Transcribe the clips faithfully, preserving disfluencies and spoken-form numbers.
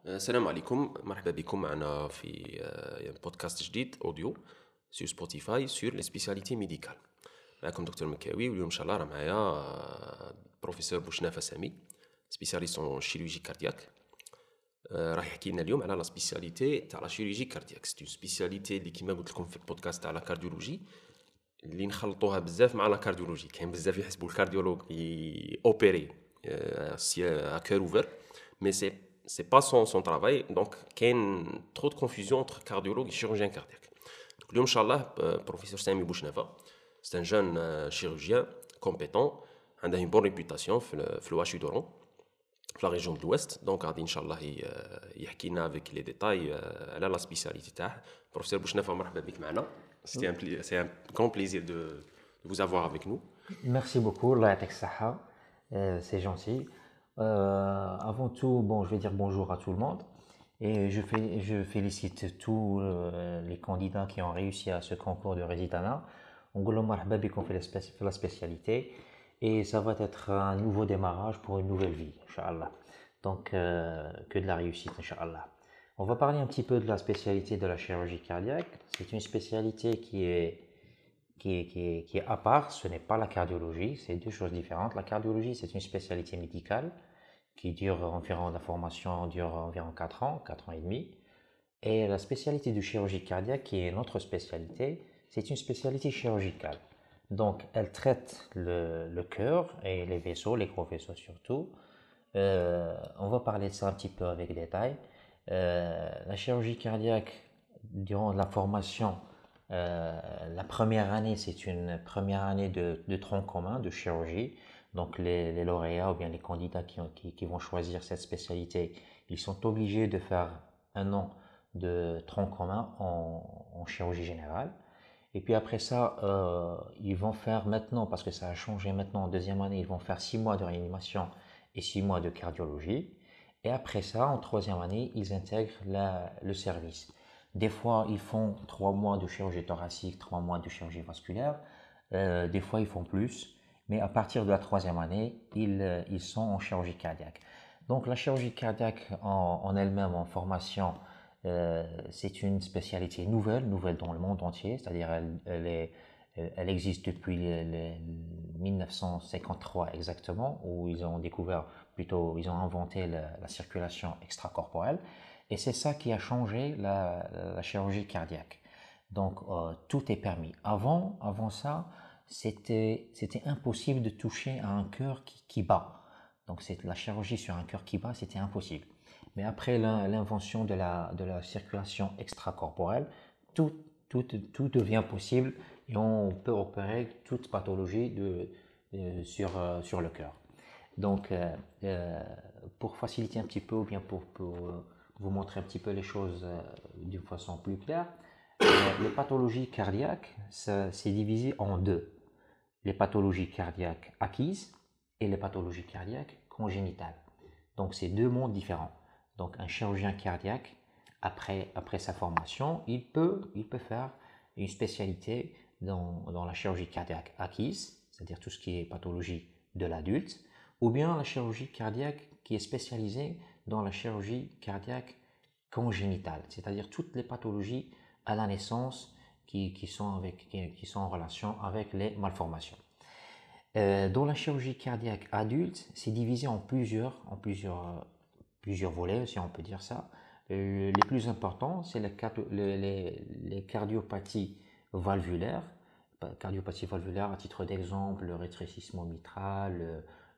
السلام عليكم، مرحبا بكم معنا في آه، بودكاست جديد اوديو سور سبوتيفاي سور لي سبيسياليتي ميديكال. معكم دكتور مكاوي، واليوم ان شاء الله راه معايا آه، بروفيسور بوشنافه سامي، سبيسياليست اون شيروجي كاردياك. آه، راح يحكي لنا اليوم على لا سبيسياليتي تاع لا شيروجي كاردياك. سي سبيسياليتي اللي كيما قلت لكم في البودكاست تاع لا كارديولوجي اللي نخلطوها بزاف مع لا كارديولوجي. كاين بزاف يحسبوا الكارديولوج اوبيري سي كور اوفر، مي سي سي با سون سون ترافاي. دونك كاين ترو دو كونفوزيون انتر كارديولوج و شيروجيان كاردياك. اليوم ان شاء الله بروفيسور سامي بوشنافه، سي ان جون شيروجيان كومبيتون، عنده une bonne réputation في في الواشي دورون في لا ريجون دو l'Ouest. دونك غادي ان شاء الله يحكي لنا افيك لي ديتاي على لا سبيسياليتي تاعه. بروفيسور بوشنافه، مرحبا بك معنا. C'était un, pli- c'est un grand plaisir de, de vous avoir avec nous. Merci beaucoup, Allah yatek saha. Euh, c'est gentil. Euh, avant tout, bon, je vais dire bonjour à tout le monde et je, fé- je félicite tous euh, les candidats qui ont réussi à ce concours de résidana. On goulou marhaba bikoum fait la spéci- fait la spécialité et ça va être un nouveau démarrage pour une nouvelle vie, Inch'Allah. Donc, euh, que de la réussite, Inch'Allah. On va parler un petit peu de la spécialité de la chirurgie cardiaque. C'est une spécialité qui est qui est, qui est, qui est à part, ce n'est pas la cardiologie, c'est deux choses différentes. La cardiologie, c'est une spécialité médicale qui dure environ, la formation dure environ quatre ans, quatre ans et demi. Et la spécialité de chirurgie cardiaque, qui est notre spécialité, c'est une spécialité chirurgicale. Donc, elle traite le, le cœur et les vaisseaux, les gros vaisseaux surtout. Euh, on va parler de ça un petit peu avec détail. Euh, la chirurgie cardiaque, durant la formation, euh, la première année, c'est une première année de, de tronc commun de chirurgie. Donc, les, les lauréats ou bien les candidats qui, ont- qui, qui vont choisir cette spécialité, ils sont obligés de faire un an de tronc commun en, en chirurgie générale. Et puis après ça, euh, ils vont faire maintenant, parce que ça a changé maintenant en deuxième année, ils vont faire six mois de réanimation et six mois de cardiologie. Et après ça, en troisième année, ils intègrent la- le service. Des fois, ils font trois mois de chirurgie thoracique, trois mois de chirurgie vasculaire. Euh, des fois, ils font plus. Mais à partir de la troisième année, ils, euh, ils sont en chirurgie cardiaque. Donc, la chirurgie cardiaque en, en elle-même, en formation, euh, c'est une spécialité nouvelle, nouvelle dans le monde entier. C'est-à-dire, elle, elle, est, elle existe depuis les, les mille neuf cent cinquante-trois exactement, où ils ont découvert, plutôt, ils ont inventé la, la circulation extracorporelle. Et c'est ça qui a changé la, la chirurgie cardiaque. Donc, euh, tout est permis. Avant, avant ça, c'était, c'était impossible de toucher à un cœur qui, qui bat. Donc, c'est la chirurgie sur un cœur qui bat, c'était impossible. Mais après l'invention de la, de la circulation extracorporelle, tout, tout, tout devient possible et on peut opérer toute pathologie de, de- sur, euh, sur le cœur. Donc, euh, euh, pour faciliter un petit peu ou bien pour, pour, euh, vous montrer un petit peu les choses euh, d'une façon plus claire, euh, les pathologies cardiaques, ça- c'est divisé en deux. Les pathologies cardiaques acquises et les pathologies cardiaques congénitales. Donc, c'est deux mondes différents. Donc, un chirurgien cardiaque, après, après sa formation, il peut, il peut faire une spécialité dans, dans la chirurgie cardiaque acquise, c'est-à-dire tout ce qui est pathologie de l'adulte, ou bien la chirurgie cardiaque qui est spécialisée dans la chirurgie cardiaque congénitale, c'est-à-dire toutes les pathologies à la naissance qui, qui, sont, avec, qui, qui sont en relation avec les malformations. Euh, dans la chirurgie cardiaque adulte, c'est divisé en plusieurs, en plusieurs, euh, plusieurs volets, si on peut dire ça. Euh, les plus importants, c'est les, les, les, les cardiopathies valvulaires. Cardiopathie valvulaire, à titre d'exemple, le rétrécissement mitral,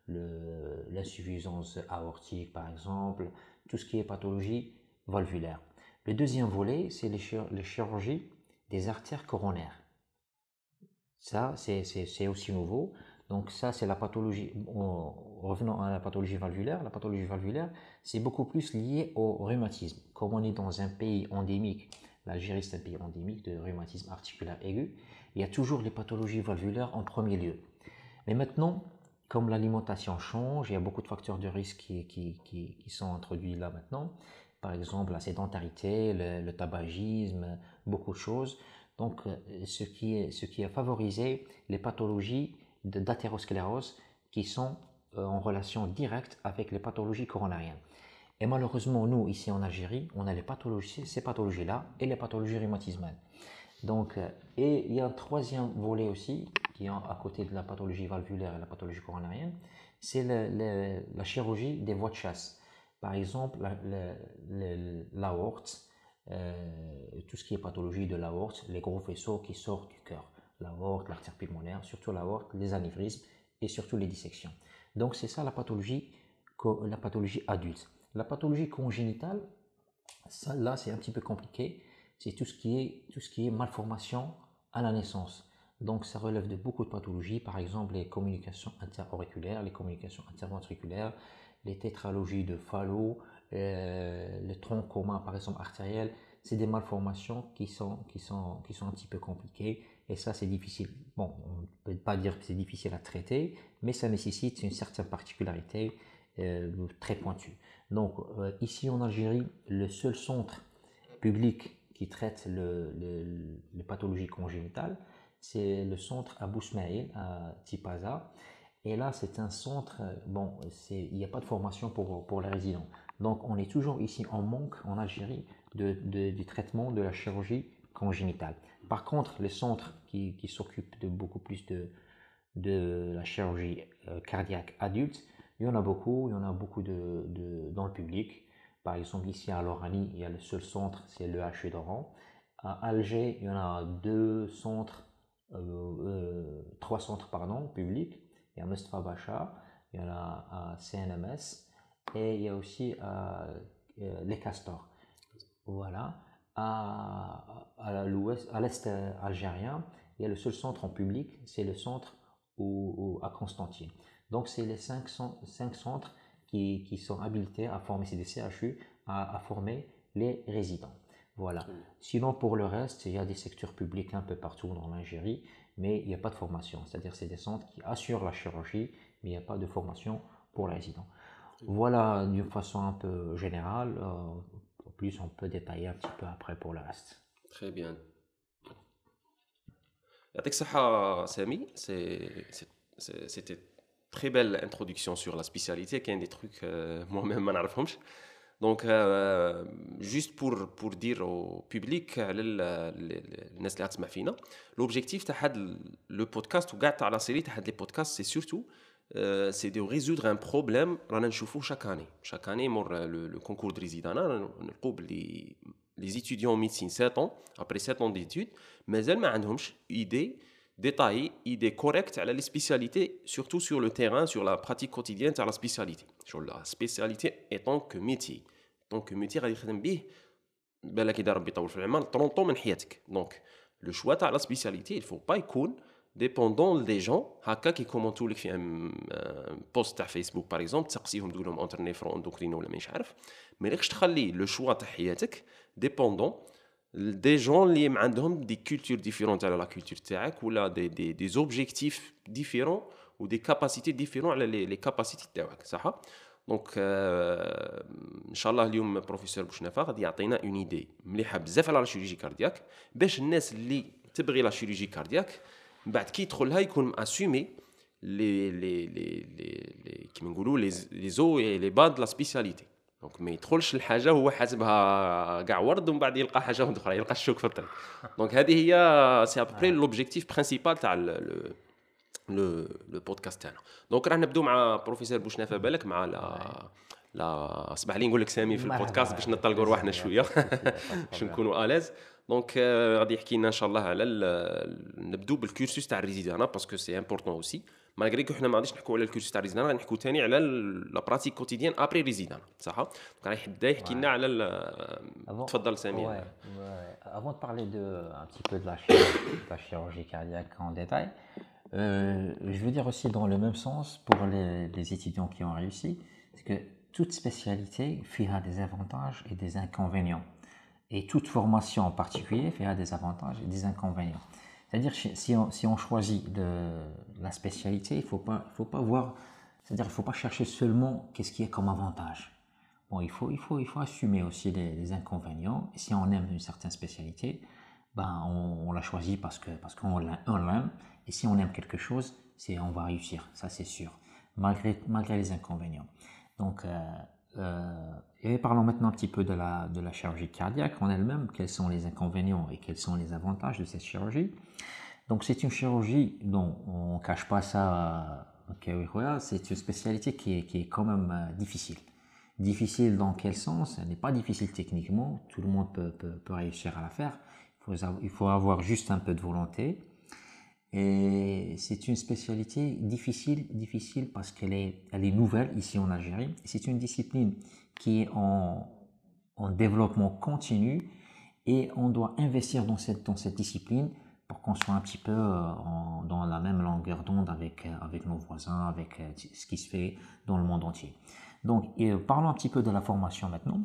l'insuffisance aortique, par exemple, tout ce qui est pathologie valvulaire. Le deuxième volet, c'est les, chir les chirurgies des artères coronaires. Ça, c'est aussi nouveau. Donc ça, c'est la pathologie. Revenons à la pathologie valvulaire. La pathologie valvulaire, c'est beaucoup plus lié au rhumatisme. Comme on est dans un pays endémique, l'Algérie c'est un pays endémique de rhumatisme articulaire aigu, il y a toujours les pathologies valvulaires en premier lieu. Mais maintenant, comme l'alimentation change, il y a beaucoup de facteurs de risque qui, qui, qui, qui sont introduits là maintenant. Par exemple, la sédentarité, le, le tabagisme, beaucoup de choses. Donc, ce qui, est, ce qui a favorisé les pathologies d'athérosclérose qui sont en relation directe avec les pathologies coronariennes. Et malheureusement, nous, ici en Algérie, on a les pathologies, ces pathologies-là et les pathologies rhumatismales. Donc, euh, et il y a un troisième volet aussi, qui est à côté de la pathologie valvulaire et la pathologie coronarienne, c'est le- le- la chirurgie des voies de chasse. Par exemple, la- la- la- l'aorte, euh, tout ce qui est pathologie de l'aorte, les gros vaisseaux qui sortent du cœur, l'aorte, l'artère pulmonaire, surtout l'aorte, les anévrismes et surtout les dissections. Donc, c'est ça la pathologie, co- la pathologie adulte. La pathologie congénitale, ça, là, c'est un petit peu compliqué. C'est tout ce qui est, tout ce qui est malformation à la naissance. Donc, ça relève de beaucoup de pathologies, par exemple les communications interauriculaires, les communications interventriculaires, les tétralogies de Fallot, euh, le tronc commun, par exemple artériel. C'est des malformations qui sont, qui, sont, qui sont un petit peu compliquées. Et ça, c'est difficile. Bon, on ne peut pas dire que c'est difficile à traiter, mais ça nécessite une certaine particularité euh, très pointue. Donc, euh, ici en Algérie, le seul centre public qui traite le, le- les pathologies congénitales, c'est le centre Abou Smaïl à Tipaza. Et là, c'est un centre, euh, bon, c'est, il n'y a pas de formation pour, pour les résidents. Donc, on est toujours ici en manque en Algérie de, de- du traitement de la chirurgie congénitale. Par contre, les centres qui, qui s'occupent de beaucoup plus de, de la chirurgie euh, cardiaque adulte, il y en a beaucoup, il y en a beaucoup de, de- dans le public. Par exemple, ici à Lorani, il y a le seul centre, c'est le H U d'Oran. À Alger, il y en a deux centres, euh, euh, trois centres pardon, publics. Il y a Mustafa Bacha, il y en a à C N M S et il y a aussi à, euh, les Castors. Voilà. À, à l'ouest, à l'est euh, algérien, il y a le seul centre en public, c'est le centre où- où- à Constantine. Donc, c'est les cinq, cen- cinq centres qui, qui sont habilités à former, c'est des C H U, à, à former les résidents. Voilà. Sinon, pour le reste, il y a des secteurs publics un peu partout dans l'Algérie, mais il n'y a pas de formation. C'est-à-dire c'est des centres qui assurent la chirurgie, mais il n'y a pas de formation pour les résidents. Voilà d'une façon un peu générale. Euh, en plus, on peut détailler un petit peu après pour le reste. Très bien. يعطيك الصحة سامي. C'est- c'est- c'est- C'était très belle introduction sur la spécialité. Il y a des trucs euh, moi-même ما نعرفهمش. Donc, euh, juste pour, pour dire au public, على ال- ال- الناس اللي غتسمع فينا, l'objectif تاع هاد le podcast وكاع تاع la série تاع هاد les podcasts, c'est surtout euh, c'est de résoudre un problème رانا نشوفوه chaque année. Chaque année, مور le, le concours de résidana, نلقاو بلي les étudiants en médecine sept ans, après sept ans d'études, مازال ما عندهمش idée détaillée, idée correcte على les spécialités, surtout sur le terrain, sur la pratique quotidienne تاع la spécialité, sur la spécialité étant que métier. tant que métier غادي يخدم به بالك اذا ربي يطول في العمر ثلاثين من حياتك. دونك لو شوا تاع لا سبيسياليتي il faut pas يكون dépendant des gens هكا كي كومونتو لك في ان بوست تاع فيسبوك باغ اكزومبل تسقسيهم تقول لهم انتر نيفرو اندوكرينو ولا مانيش عارف. ما لكش تخلي لو شوا تاع حياتك dépendant des gens اللي عندهم دي كولتور ديفيرونت على لا كولتور تاعك ولا دي دي دي زوبجيكتيف ديفيرون و دي كاباسيتي ديفيرون على لي لي كاباسيتي تاعك صح. دونك ان شاء الله اليوم بروفيسور بوشنافه غادي يعطينا اون ايدي مليحه بزاف على لا شيروجي كاردياك باش الناس اللي تبغي لا شيروجي كاردياك من بعد كي يدخلها يكون اسومي لي لي لي لي كيما نقولوا لي لي زو اي لي باد لا سبيسياليتي. دونك ما يدخلش الحاجه وهو حاسبها كاع ورد ومن بعد يلقى حاجه اخرى يلقى الشوك في الطريق. دونك هذه هي سي ابري لوبجيكتيف برينسيبال تاع لو لو بودكاست تاعنا. دونك راح نبداو مع بروفيسور بوشنافه بالك مع لا لا اسمح لي نقول لك سامي في البودكاست باش نطلقوا رواحنا شويه باش نكونوا اليز. دونك غادي يحكي لنا ان شاء الله على نبداو بالكورسوس تاع الريزيدانا باسكو سي امبورطون اوسي مالغري كو حنا ما غاديش نحكوا على الكورسوس تاع الريزيدانا غادي نحكوا ثاني على لا براتيك كوتيديان ابري ريزيدانا صح. دونك راح يبدا يحكي لنا على تفضل سامي. Ouais, ouais. Avant de parler de, un petit peu de la chirurgie, de la chirurgie cardiaque en détail, euh, je veux dire aussi dans le même sens pour les, les étudiants qui ont réussi, c'est que toute spécialité a des avantages et des inconvénients. Et toute formation en particulier a des avantages et des inconvénients. C'est-à-dire si on, si on choisit de, la spécialité, il ne faut pas, il faut pas voir, c'est-à-dire il ne faut pas chercher seulement qu'est-ce qui est comme avantage. Bon, il faut, il faut, il faut assumer aussi les, les inconvénients. Et si on aime une certaine spécialité, ben on, on la choisit parce que parce qu'on l'aime. Et si on aime quelque chose, c'est on va réussir, ça c'est sûr, malgré malgré les inconvénients. Donc euh, euh, et parlons maintenant un petit peu de la, de la chirurgie cardiaque en elle-même, quels sont les inconvénients et quels sont les avantages de cette chirurgie. Donc c'est une chirurgie dont on ne cache pas ça, okay, voilà, c'est une spécialité qui est, qui est quand même euh, difficile. Difficile dans quel sens? Elle n'est pas difficile techniquement, tout le monde peut, peut, peut réussir à la faire, il faut, il faut avoir juste un peu de volonté. Et c'est une spécialité difficile, difficile parce qu'elle est, elle est nouvelle ici en Algérie. C'est une discipline qui est en, en développement continu et on doit investir dans cette, dans cette discipline pour qu'on soit un petit peu en, dans la même longueur d'onde avec, avec nos voisins, avec ce qui se fait dans le monde entier. Donc, parlons un petit peu de la formation maintenant.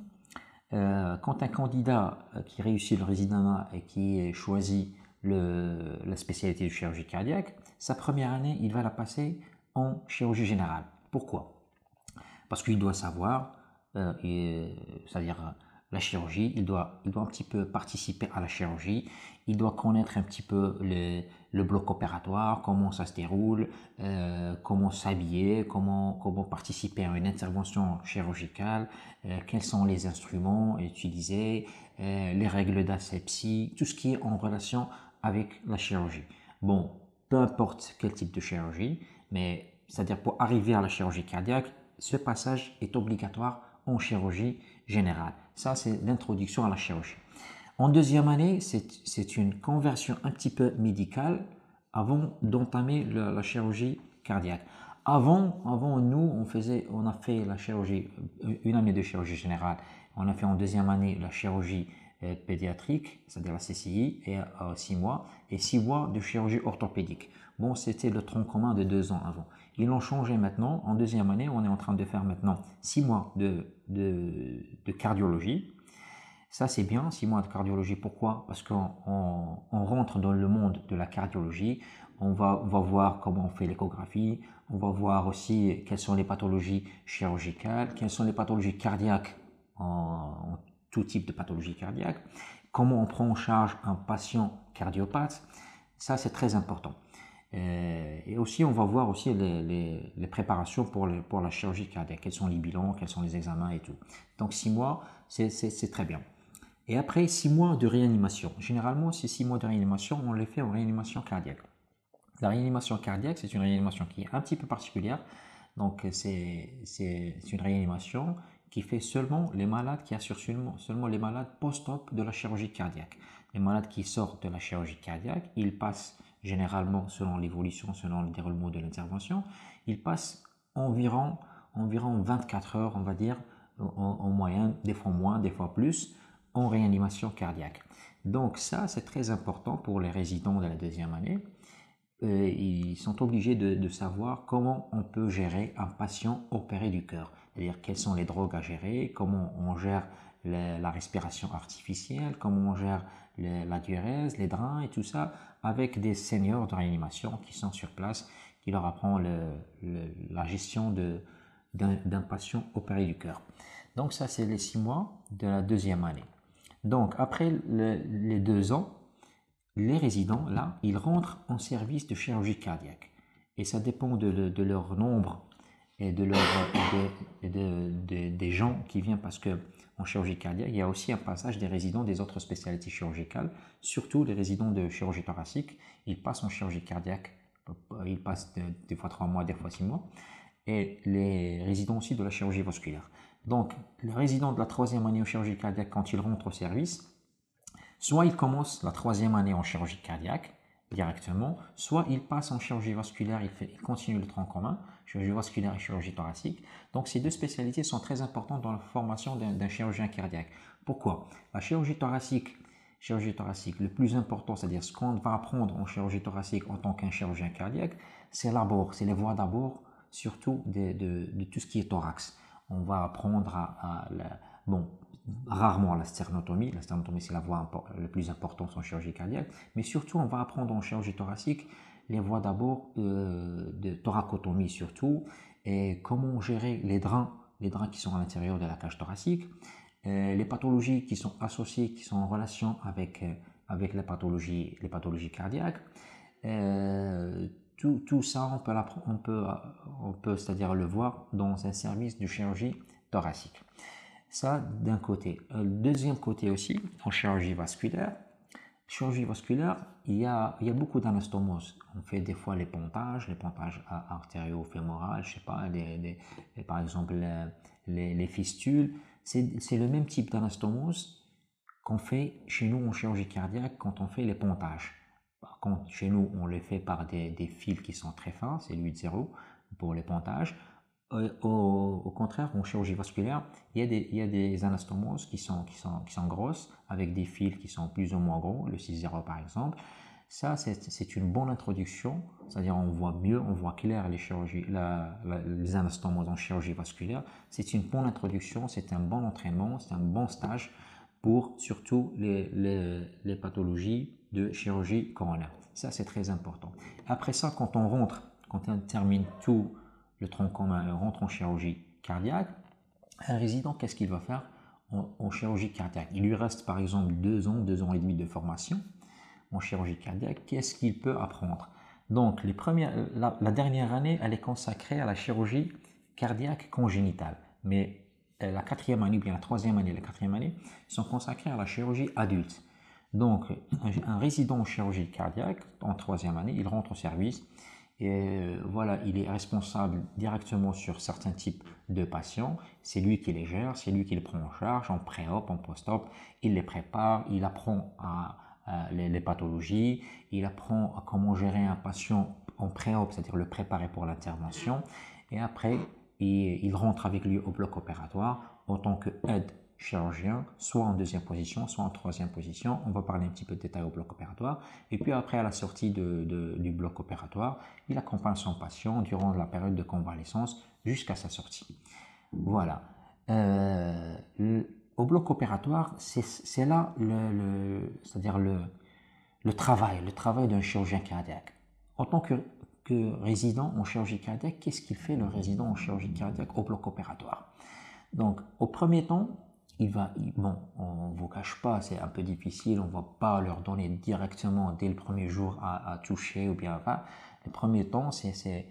Euh, quand un candidat qui réussit le résidentat et qui choisit le, la spécialité de chirurgie cardiaque, sa première année, il va la passer en chirurgie générale. Pourquoi? Parce qu'il doit savoir, euh, c'est-à-dire la chirurgie, il doit, il doit un petit peu participer à la chirurgie, il doit connaître un petit peu le, le bloc opératoire, comment ça se déroule, euh, comment s'habiller, comment, comment participer à une intervention chirurgicale, euh, quels sont les instruments utilisés, euh, les règles d'asepsie, tout ce qui est en relation avec la chirurgie. Bon, peu importe quel type de chirurgie, mais c'est-à-dire pour arriver à la chirurgie cardiaque, ce passage est obligatoire en chirurgie générale. Ça, c'est l'introduction à la chirurgie. En deuxième année, c'est une conversion un petit peu médicale avant d'entamer la, la chirurgie cardiaque. Avant, avant, nous, on, faisait, on a fait la chirurgie, une année de chirurgie générale. On a fait en deuxième année la chirurgie euh, pédiatrique, c'est-à-dire la C C I, et euh, six mois, et six mois de chirurgie orthopédique. Bon, c'était le tronc commun de deux ans avant. Ils l'ont changé maintenant. En deuxième année, on est en train de faire maintenant six mois de, de, de cardiologie. Ça, c'est bien, six mois de cardiologie. Pourquoi? Parce qu'on on, on rentre dans le monde de la cardiologie. On va, on va voir comment on fait l'échographie. On va voir aussi quelles sont les pathologies chirurgicales, quelles sont les pathologies cardiaques, en, en tout type de pathologie cardiaque. Comment on prend en charge un patient cardiopathe. Ça, c'est très important. Et aussi, on va voir aussi les, les, les préparations pour, les, pour la chirurgie cardiaque. Quels sont les bilans, quels sont les examens et tout. Donc, six mois, c'est très bien. Et après, six mois de réanimation. Généralement, ces six mois de réanimation, on les fait en réanimation cardiaque. La réanimation cardiaque, c'est une réanimation qui est un petit peu particulière. Donc, c'est une réanimation qui fait seulement les malades, qui assurent seulement, seulement les malades post-op de la chirurgie cardiaque. Les malades qui sortent de la chirurgie cardiaque, ils passent généralement, selon l'évolution, selon le déroulement de l'intervention, ils passent environ, environ vingt-quatre heures, on va dire, en, en moyenne, des fois moins, des fois plus, en réanimation cardiaque. Donc ça, c'est très important pour les résidents de la deuxième année. Euh, ils sont obligés de, de savoir comment on peut gérer un patient opéré du cœur. C'est-à-dire quelles sont les drogues à gérer, comment on gère la, la respiration artificielle, comment on gère les, la diurèse, les drains et tout ça, avec des seniors de réanimation qui sont sur place, qui leur apprennent le, le, la gestion d'un patient opéré du cœur. Donc ça, c'est les six mois de la deuxième année. Donc après le, les deux ans, les résidents, là, ils rentrent en service de chirurgie cardiaque. Et ça dépend de, de, de leur nombre et de leur, de, de, de, des gens qui viennent, parce qu'en chirurgie cardiaque, il y a aussi un passage des résidents des autres spécialités chirurgicales, surtout les résidents de chirurgie thoracique. Ils passent en chirurgie cardiaque, ils passent de, des fois trois mois, des fois six mois. Et les résidents aussi de la chirurgie vasculaire. Donc, les résidents de la troisième année en chirurgie cardiaque, quand ils rentrent au service, soit ils commencent la troisième année en chirurgie cardiaque directement, soit ils passent en chirurgie vasculaire, ils, fait, ils continuent le tronc commun, chirurgie vasculaire et chirurgie thoracique. Donc, ces deux spécialités sont très importantes dans la formation d'un chirurgien cardiaque. Pourquoi? La chirurgie thoracique, chirurgie thoracique, le plus important, c'est-à-dire ce qu'on va apprendre en chirurgie thoracique en tant qu'un chirurgien cardiaque, c'est l'abord, c'est les voies d'abord, surtout de, de, de tout ce qui est thorax. On va apprendre à, à la, bon, rarement la sternotomie. La sternotomie, c'est la voie la plus importante en chirurgie cardiaque. Mais surtout, on va apprendre en chirurgie thoracique les voies d'abord euh, de thoracotomie surtout, et comment gérer les drains, les drains qui sont à l'intérieur de la cage thoracique, euh, les pathologies qui sont associées, qui sont en relation avec, euh, avec les, pathologies, les pathologies cardiaques. Euh, Tout, tout ça, on peut, on peut, on peut c'est-à-dire le voir dans un service de chirurgie thoracique. Ça, d'un côté. Le deuxième côté aussi, en chirurgie vasculaire, chirurgie vasculaire, il y a, il y a beaucoup d'anastomoses. On fait des fois les pontages, les pontages artério-fémorales, je sais pas, les, les, les, par exemple les, les, les fistules. C'est le même type d'anastomose qu'on fait chez nous en chirurgie cardiaque quand on fait les pontages. Par contre, chez nous, on les fait par des, des fils qui sont très fins, c'est l'huit zéro pour les pontages. Au, au contraire, en chirurgie vasculaire, il y a des, il y a des anastomoses qui sont, qui, sont, qui sont grosses, avec des fils qui sont plus ou moins gros, le six zéro par exemple. Ça, c'est une bonne introduction, c'est-à-dire on voit mieux, on voit clair les, chirurgies, la, la, les anastomoses en chirurgie vasculaire. C'est une bonne introduction, c'est un bon entraînement, c'est un bon stage pour surtout les, les, les pathologies de chirurgie coronaire. Ça, c'est très important. Après ça, quand on rentre, quand on termine tout le tronc commun et on rentre en chirurgie cardiaque, un résident, qu'est-ce qu'il va faire en, en chirurgie cardiaque? Il lui reste par exemple deux ans, deux ans et demi de formation en chirurgie cardiaque. Qu'est-ce qu'il peut apprendre? Donc, les premières, la, la dernière année, elle est consacrée à la chirurgie cardiaque congénitale. Mais la quatrième année, ou bien la troisième année et la quatrième année, sont consacrées à la chirurgie adulte. Donc, un, un résident en chirurgie cardiaque, en troisième année, il rentre au service. Et voilà, il est responsable directement sur certains types de patients. C'est lui qui les gère, c'est lui qui les prend en charge, en pré-op, en post-op. Il les prépare, il apprend à, à les, les pathologies, il apprend à comment gérer un patient en pré-op, c'est-à-dire le préparer pour l'intervention. Et après, il, il rentre avec lui au bloc opératoire en tant qu'aide chirurgien, soit en deuxième position, soit en troisième position. On va parler un petit peu de détails au bloc opératoire. Et puis après, à la sortie de, de, du bloc opératoire, il accompagne son patient durant la période de convalescence jusqu'à sa sortie. Voilà. Euh, le, au bloc opératoire, c'est là le, le, c'est-à-dire le, le travail, le travail d'un chirurgien cardiaque. En tant que, que résident en chirurgie cardiaque, qu'est-ce qu'il fait le résident en chirurgie cardiaque au bloc opératoire? Donc, au premier temps, il va, bon, on ne vous cache pas, c'est un peu difficile, on ne va pas leur donner directement dès le premier jour à, à toucher ou bien enfin, le premier temps, c'est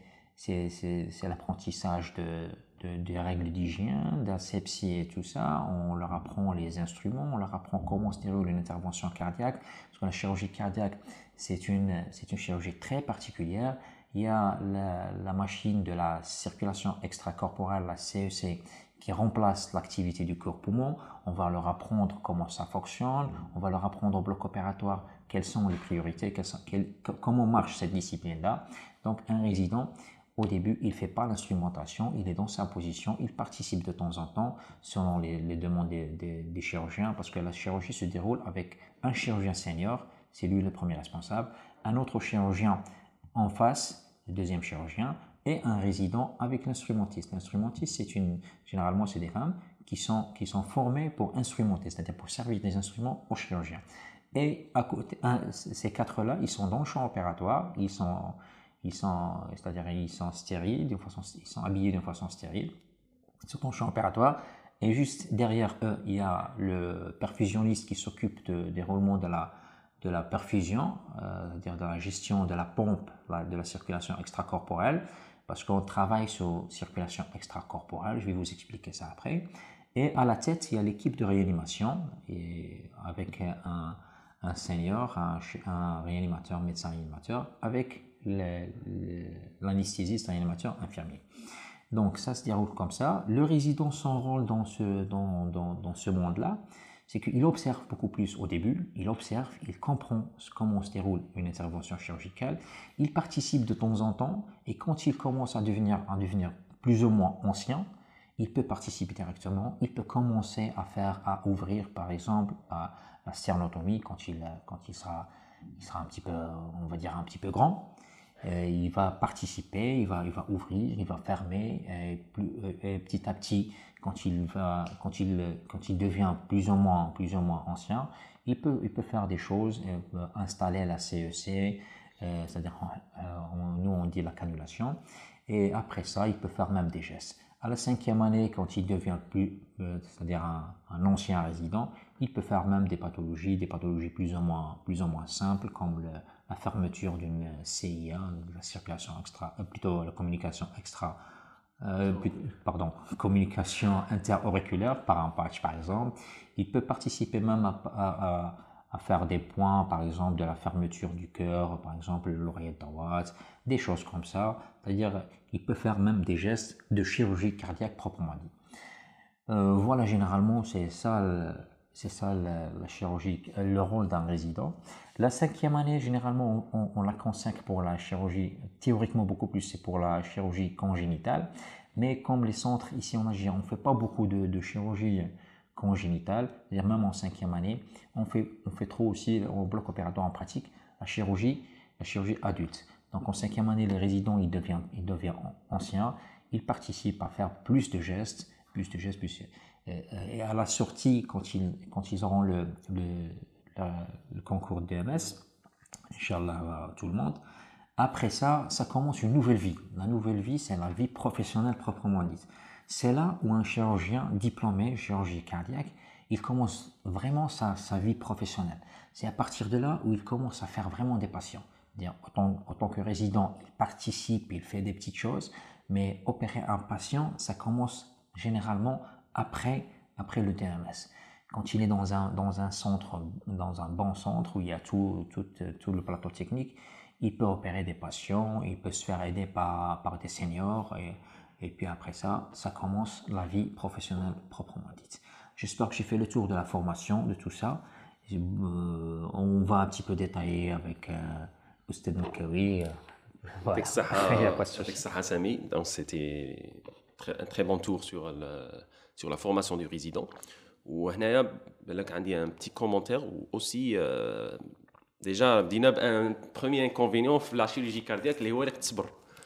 l'apprentissage de, de, des règles d'hygiène, d'asepsie et tout ça. On leur apprend les instruments, on leur apprend comment se déroule une intervention cardiaque, parce que la chirurgie cardiaque, c'est une, c'est une chirurgie très particulière. Il y a la, la machine de la circulation extracorporelle, la C E C, qui remplace l'activité du cœur-poumon. On va leur apprendre comment ça fonctionne, on va leur apprendre au bloc opératoire quelles sont les priorités, quelles sont, quelles, comment marche cette discipline-là. Donc un résident, au début, il ne fait pas l'instrumentation, il est dans sa position, il participe de temps en temps selon les, les demandes des, des, des chirurgiens, parce que la chirurgie se déroule avec un chirurgien senior, c'est lui le premier responsable, un autre chirurgien en face, le deuxième chirurgien, et un résident avec l'instrumentiste. L'instrumentiste, c'est une, généralement, c'est des femmes qui sont, qui sont formées pour instrumenter, c'est-à-dire pour servir des instruments aux chirurgiens. Et à côté, un, ces quatre-là, ils sont dans le champ opératoire, ils sont, ils sont, c'est-à-dire ils sont stériles, d'une façon, ils sont habillés d'une façon stérile, ils sont dans le champ opératoire. Et juste derrière eux, il y a le perfusionniste qui s'occupe de, des roulements de la de la perfusion, euh, c'est-à-dire de la gestion de la pompe, de la circulation extracorporelle, parce qu'on travaille sur circulation extracorporelle, je vais vous expliquer ça après. Et à la tête, il y a l'équipe de réanimation, et avec un, un senior, un, un réanimateur, médecin réanimateur, avec l'anesthésiste, réanimateur, infirmier. Donc ça se déroule comme ça. Le résident, son rôle dans ce, dans, dans, dans ce monde-là, c'est qu'il observe beaucoup plus au début, il observe, il comprend comment se déroule une intervention chirurgicale, il participe de temps en temps, et quand il commence à devenir, à devenir plus ou moins ancien, il peut participer directement, il peut commencer à faire, à ouvrir par exemple à la sternotomie quand il, quand il sera, il sera un petit peu, on va dire un petit peu grand. Et il va participer, il va, il va ouvrir, il va fermer, et, plus, et petit à petit, quand il, va, quand, il, quand il devient plus ou moins, plus ou moins ancien, il peut, il peut faire des choses, euh, installer la C E C, euh, c'est-à-dire, euh, on, nous on dit la cannulation, et après ça, il peut faire même des gestes. À la cinquième année, quand il devient plus, euh, c'est-à-dire un, un ancien résident, il peut faire même des pathologies, des pathologies plus ou moins, plus ou moins simples, comme le, la fermeture d'une C I A, la circulation extra, plutôt la communication extra euh, pardon, communication interauriculaire par un patch par exemple. Il peut participer même à, à, à, à faire des points, par exemple de la fermeture du cœur, par exemple l'oreillette droite, des choses comme ça. C'est-à-dire, il peut faire même des gestes de chirurgie cardiaque proprement dit. Euh, voilà, généralement, c'est ça, c'est ça la, la chirurgie, le rôle d'un résident. La cinquième année, généralement, on, on la consacre pour la chirurgie, théoriquement beaucoup plus, c'est pour la chirurgie congénitale. Mais comme les centres ici en Algérie, on ne fait pas beaucoup de, de chirurgie congénitale, c'est-à-dire même en cinquième année, on fait, on fait trop aussi au bloc opératoire en pratique la chirurgie, la chirurgie adulte. Donc en cinquième année, les résidents, ils deviennent, ils deviennent anciens, ils participent à faire plus de gestes, plus de gestes, plus. Et à la sortie, quand ils, quand ils auront le, le, la, le concours de D M S, Inch'Allah, tout le monde, après ça, ça commence une nouvelle vie. La nouvelle vie, c'est la vie professionnelle proprement dite. C'est là où un chirurgien diplômé, chirurgie cardiaque, il commence vraiment sa, sa vie professionnelle. C'est à partir de là où il commence à faire vraiment des patients. En tant, en tant que résident, il participe, il fait des petites choses, mais opérer un patient, ça commence généralement après, après le D M S. Quand il est dans un, dans un centre, dans un bon centre où il y a tout, tout, tout le plateau technique, il peut opérer des patients, il peut se faire aider par, par des seniors et, et puis après ça, ça commence la vie professionnelle proprement dite. J'espère que j'ai fait le tour de la formation, de tout ça. Euh, on va un petit peu détailler avec euh, Oustad Mekawi. Euh, voilà. Avec Saha Sami, donc c'était un très bon tour sur, le, sur la formation du résident. Ou il y a un petit commentaire aussi. Euh, déjà, un premier inconvénient في la chirurgie cardiaque اللي هو اللي تصبر.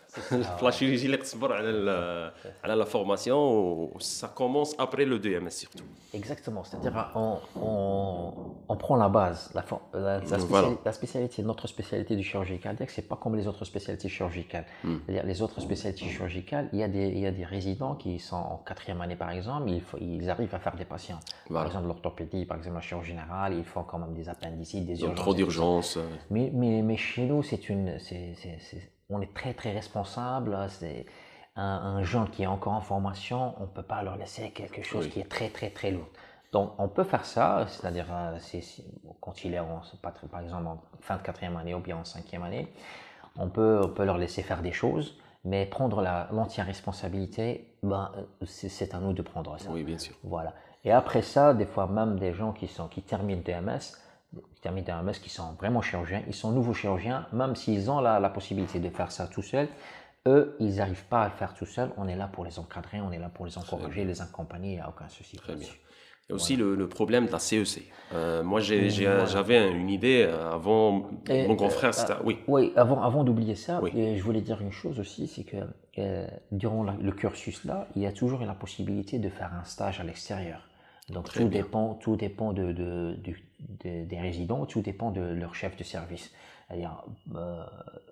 La chirurgie اللي تصبر على على la formation, ça commence après le D M S surtout. Exactement, c'est-à-dire on, on, on prend la base, la, la, la, spécialité, voilà. La spécialité, notre spécialité du chirurgie cardiaque, c'est pas comme les autres spécialités chirurgicales. Mm. C'est-à-dire les autres spécialités chirurgicales, il y a des, il y a des résidents qui sont en quatrième année par exemple, ils, ils arrivent à faire des patients. Voilà. Par exemple l'orthopédie, par exemple la chirurgie générale, ils font quand même des appendicites, des urgences. Trop d'urgences. Mais, mais, mais chez nous, c'est une, c'est, c'est, c'est, on est très très responsable. C'est un, un jeune qui est encore en formation, on ne peut pas leur laisser quelque chose oui. qui est très très très lourd. Donc on peut faire ça, c'est-à-dire c'est, c'est, quand il est en, par exemple en fin de quatrième année ou bien en cinquième année, on peut, on peut leur laisser faire des choses, mais prendre la, l'entière responsabilité, ben, c'est, c'est à nous de prendre ça. Oui, bien sûr. Voilà. Et après ça, des fois même des gens qui, sont, qui terminent D M S, qui terminent D M S, qui sont vraiment chirurgiens, ils sont nouveaux chirurgiens, même s'ils ont la, la possibilité de faire ça tout seuls, eux, ils n'arrivent pas à le faire tout seuls. On est là pour les encadrer, on est là pour les encourager, les accompagner, il n'y a aucun souci. Très bien. Il y a aussi voilà. le, le problème de la C E C. Euh, moi, j'ai, j'ai, voilà. j'avais une idée avant, et, mon grand frère, c'était... Euh, oui, oui avant, avant d'oublier ça, oui. je voulais dire une chose aussi, c'est que euh, durant la, le cursus là, il y a toujours la possibilité de faire un stage à l'extérieur. Donc tout dépend, tout dépend de, de, de, de, des résidents, tout dépend de leur chef de service. C'est-à-dire, euh,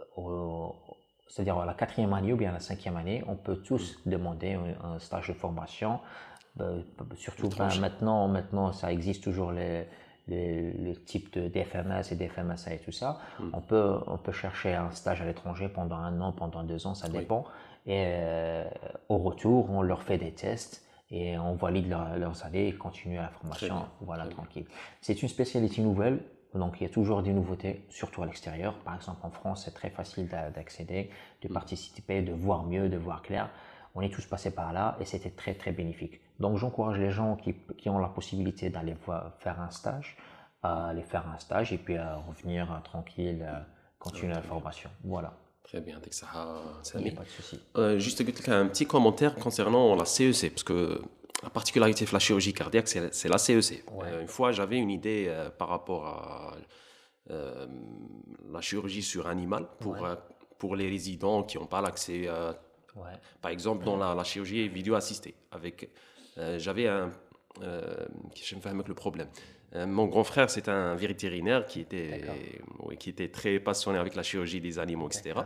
au, c'est-à-dire à la quatrième année ou bien à la cinquième année, on peut tous mmh. demander un, un stage de formation. Euh, surtout ben, maintenant, maintenant, ça existe toujours les, les, les types de D F M S et D F M S A et tout ça. Mmh. On peut, on peut chercher un stage à l'étranger pendant un an, pendant deux ans, ça dépend. Oui. Et euh, au retour, on leur fait des tests. Et on valide leur, leurs années et continue la formation, voilà, tranquille. C'est une spécialité nouvelle, donc il y a toujours des nouveautés, surtout à l'extérieur. Par exemple, en France, c'est très facile d'accéder, de participer, de voir mieux, de voir clair. On est tous passés par là et c'était très, très bénéfique. Donc, j'encourage les gens qui, qui ont la possibilité d'aller voir, faire un stage, à aller faire un stage et puis à revenir tranquille, continuer la formation. Voilà. Très bien, avec ça, il n'y a pas de souci. Euh, juste un petit commentaire concernant la C E C, parce que la particularité de la chirurgie cardiaque, c'est, c'est la C E C. Ouais. Euh, une fois, j'avais une idée euh, par rapport à euh, la chirurgie sur animal pour, ouais. euh, pour les résidents qui n'ont pas l'accès, euh, ouais. par exemple, dans la, la chirurgie vidéo assistée. Avec, euh, j'avais un... Euh, je me fais avec le problème. Euh, mon grand frère, c'est un vétérinaire qui était, oui, qui était très passionné avec la chirurgie des animaux, et cetera. D'accord.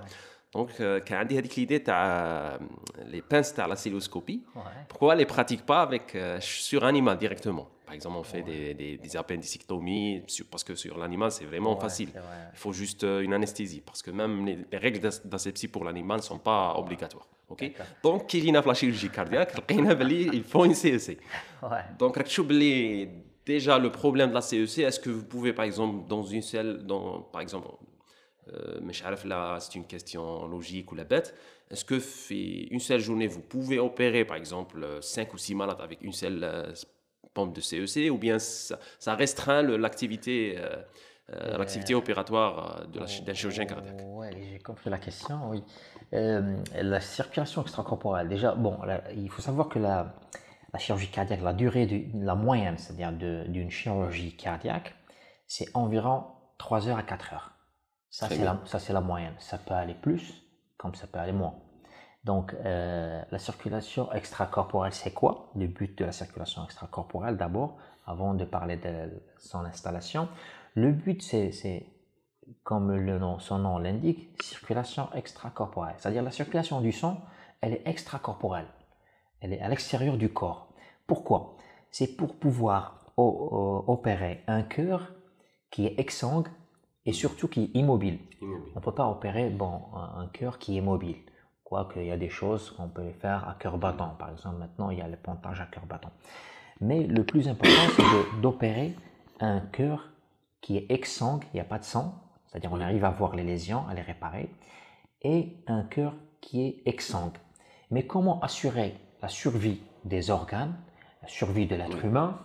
Donc, euh, quand on a dit l'idée de les pinces de la cystoscopie, Ouais. pourquoi on ne les pratique pas avec, euh, sur animal directement? Par exemple, on fait Ouais. des, des, des appendicectomies, sur- parce que sur l'animal, c'est vraiment Ouais, facile. c'est vrai. Il faut juste euh, une anesthésie, parce que même les, les règles d'as- d'asepsie pour l'animal ne sont pas obligatoires. Ok. D'accord. Donc, qui vient la chirurgie cardiaque, il faut une C E C. Ouais. Donc, راك تشوف بلي déjà le problème de la C E C, est-ce que vous pouvez par exemple dans une seule, dans, par exemple, euh, mais je sais pas, là c'est une question logique ou la bête, est-ce que fait une seule journée vous pouvez opérer par exemple cinq ou six malades avec une seule euh, pompe de C E C, ou bien ça, ça restreint le- l'activité euh, euh, l'activité Euh, opératoire euh, de la chi- d'un chirurgien oh, cardiaque? ouais, j'ai compris la question, oui. Euh, la circulation extracorporelle, déjà, bon, là, il faut savoir que la, la chirurgie cardiaque, la durée, du, la moyenne, c'est-à-dire de- d'une chirurgie cardiaque, c'est environ trois heures à quatre heures. Ça, Très c'est la, bien. ça, c'est la moyenne. Ça peut aller plus, comme ça peut aller moins. Donc, euh, la circulation extracorporelle, c'est quoi? Le but de la circulation extracorporelle, d'abord, avant de parler de son installation. Le but, c'est, c'est comme le nom, son nom l'indique, circulation extracorporelle. C'est-à-dire la circulation du sang, elle est extracorporelle. Elle est à l'extérieur du corps. Pourquoi? C'est pour pouvoir opérer un cœur qui est exsangue et surtout qui est immobile. Immobile. On ne peut pas opérer bon, un cœur qui est mobile. Quoique il y a des choses qu'on peut faire à cœur battant. Par exemple, maintenant, il y a le pontage à cœur battant. Mais le plus important, c'est d'opérer un cœur qui est exsangue, il n'y a pas de sang, c'est-à-dire on arrive à voir les lésions, à les réparer, et un cœur qui est exsangue. Mais comment assurer la survie des organes, la survie de l'être Oui. humain,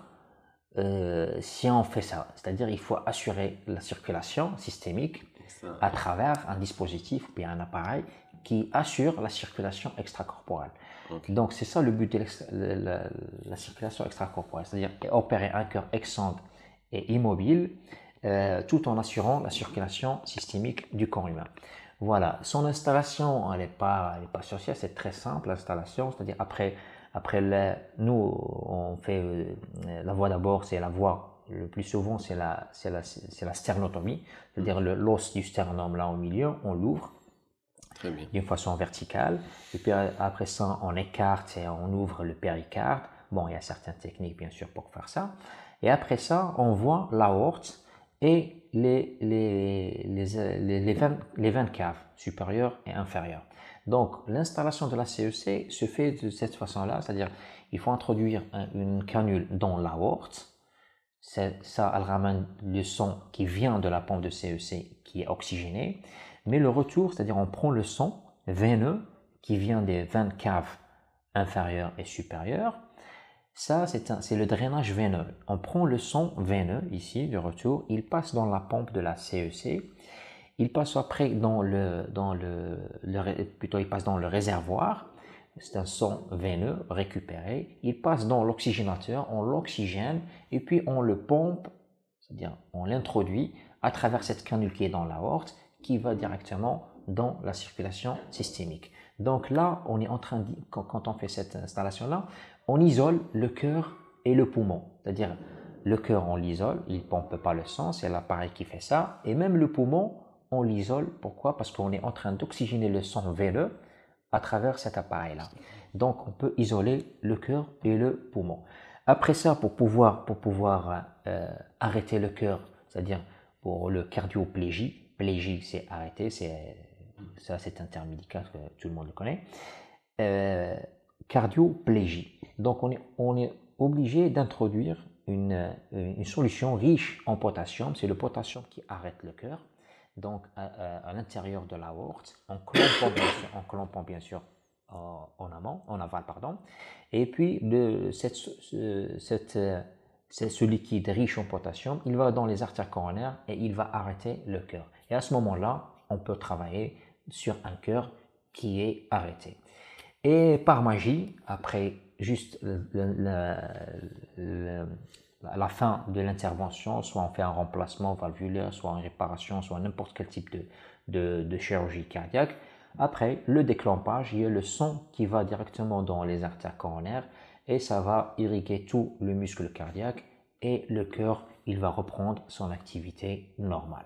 euh, si on fait ça? C'est-à-dire il faut assurer la circulation systémique Ça, à travers un dispositif ou bien un appareil qui assure la circulation extracorporelle. ok. Donc c'est ça le but de l'extra- la, la- la circulation extracorporelle, c'est-à-dire opérer un cœur exsangue et immobile euh, tout en assurant la circulation systémique du corps humain. Voilà, son installation, elle n'est pas, elle est pas sorcière, c'est très simple l'installation, c'est-à-dire après, après le- nous on fait euh, la voie d'abord, c'est la voie, le plus souvent c'est la, c'est la, c'est la sternotomie, c'est-à-dire le- l'os du sternum là au milieu, on l'ouvre Très bien. d'une façon verticale, et puis après ça on écarte et on ouvre le péricarde. Bon, il y a certaines techniques bien sûr pour faire ça, et après ça on voit l'aorte et les, les, les, les, les, veines, les veines caves supérieures et inférieures. Donc l'installation de la C E C se fait de cette façon-là, c'est-à-dire il faut introduire un, une canule dans l'aorte. Ça, elle ramène le sang qui vient de la pompe de C E C qui est oxygéné, mais le retour, c'est-à-dire on prend le sang veineux qui vient des veines caves inférieures et supérieures. Ça, c'est le drainage veineux. On prend le sang veineux ici, de retour, il passe dans la pompe de la C E C, il passe après dans le, dans le, le plutôt il passe dans le réservoir. C'est un sang veineux récupéré. Il passe dans l'oxygénateur, on l'oxygène et puis on le pompe, c'est-à-dire on l'introduit à travers cette canule qui est dans l'aorte qui va directement dans la circulation systémique. Donc là, on est en train de, quand on fait cette installation-là, on isole le cœur et le poumon. C'est-à-dire le cœur, on l'isole, il ne pompe pas le sang, c'est l'appareil qui fait ça. Et même le poumon, on l'isole. Pourquoi? Parce qu'on est en train d'oxygéner le sang veineux à travers cet appareil-là. Donc, on peut isoler le cœur et le poumon. Après ça, pour pouvoir, pour pouvoir euh, arrêter le cœur, c'est-à-dire pour le cardioplégie, plégie c'est arrêter, c'est, ça c'est un terme médical que tout le monde le connaît, euh, cardioplégie. Donc, on est, on est obligé d'introduire une, une solution riche en potassium, c'est le potassium qui arrête le cœur. Donc, à, à, à l'intérieur de l'aorte, en clampant bien sûr, en, clampant, bien sûr en, en amont, en aval, pardon. Et puis, le, cette, ce, cette, ce liquide riche en potassium, il va dans les artères coronaires et il va arrêter le cœur. Et à ce moment-là, on peut travailler sur un cœur qui est arrêté. Et par magie, après juste le, le, le, à la fin de l'intervention, soit on fait un remplacement valvulaire, soit une réparation, soit n'importe quel type de, de, de chirurgie cardiaque. Après le déclampage, il y a le sang qui va directement dans les artères coronaires et ça va irriguer tout le muscle cardiaque et le cœur, il va reprendre son activité normale.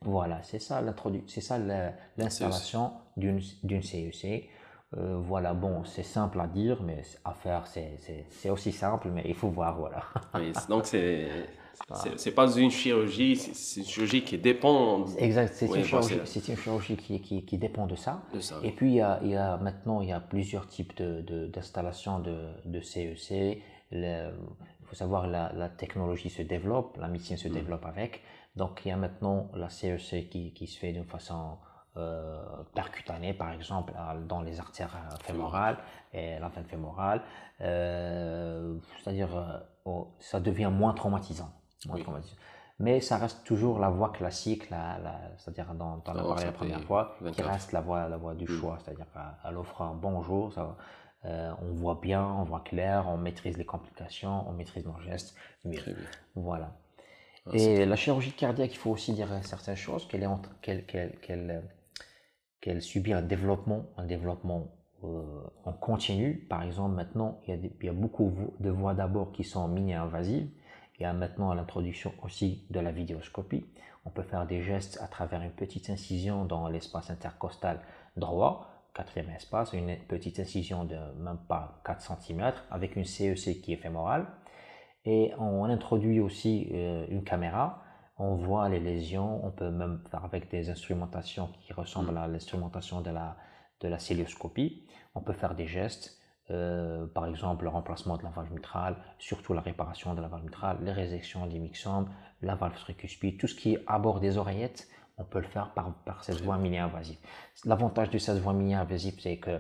Voilà, c'est ça l'introdu- c'est ça la- l'installation d'une d'une C E C. Euh, voilà, bon, c'est simple à dire, mais à faire, c'est c'est- c'est aussi simple, mais il faut voir, voilà. Oui, c'est- donc c'est c'est c'est pas une chirurgie, c'est c'est une chirurgie qui dépend. Exact, c'est une Oui, voilà, chirurgie, c'est c'est une chirurgie qui, qui, qui dépend de ça. de ça. Et Oui. puis, il y a, il y a, maintenant, il y a plusieurs types de, de- d'installations de, de C E C. Le- il faut savoir la, la technologie se développe, la médecine se développe avec. Donc, il y a maintenant la C E C qui, qui se fait d'une façon euh, percutanée, par exemple, à- dans les artères euh, fémorales et la veine fémorale. Euh, c'est-à-dire, euh, oh, ça devient moins traumatisant. Moins Oui. traumatisant. Mais ça reste toujours la voie classique, la, la- c'est-à-dire dont on a Alors, parlé ça la première fait fois, qui vingt-quatre. reste la voie, la voie du Hmm. choix, c'est-à-dire qu'elle offre un bonjour, ça, euh, on voit bien, on voit clair, on maîtrise les complications, on maîtrise nos gestes mieux. Très bien. Voilà. Ah, c'est Et très la bien. chirurgie cardiaque, il faut aussi dire certaines choses, qu'elle est en- qu'elle, qu'elle, qu'elle, euh, qu'elle subit un développement, un développement euh, en continu. Par exemple, maintenant, il y a, des- il y a beaucoup de voies d'abord qui sont mini-invasives. Il y a maintenant l'introduction aussi de la vidéoscopie. On peut faire des gestes à travers une petite incision dans l'espace intercostal droit, quatrième espace, une petite incision de même pas quatre centimètres avec une C E C qui est fémorale. Et on introduit aussi euh, une caméra, on voit les lésions, on peut même faire avec des instrumentations qui ressemblent à l'instrumentation de la, de la célioscopie. On peut faire des gestes, euh, par exemple le remplacement de la valve mitrale, surtout la réparation de la valve mitrale, les résections des myxomes, la valve tricuspide, tout ce qui est à bord des oreillettes, on peut le faire par, par cette Très voie mini-invasive. L'avantage de cette voie mini-invasive, c'est que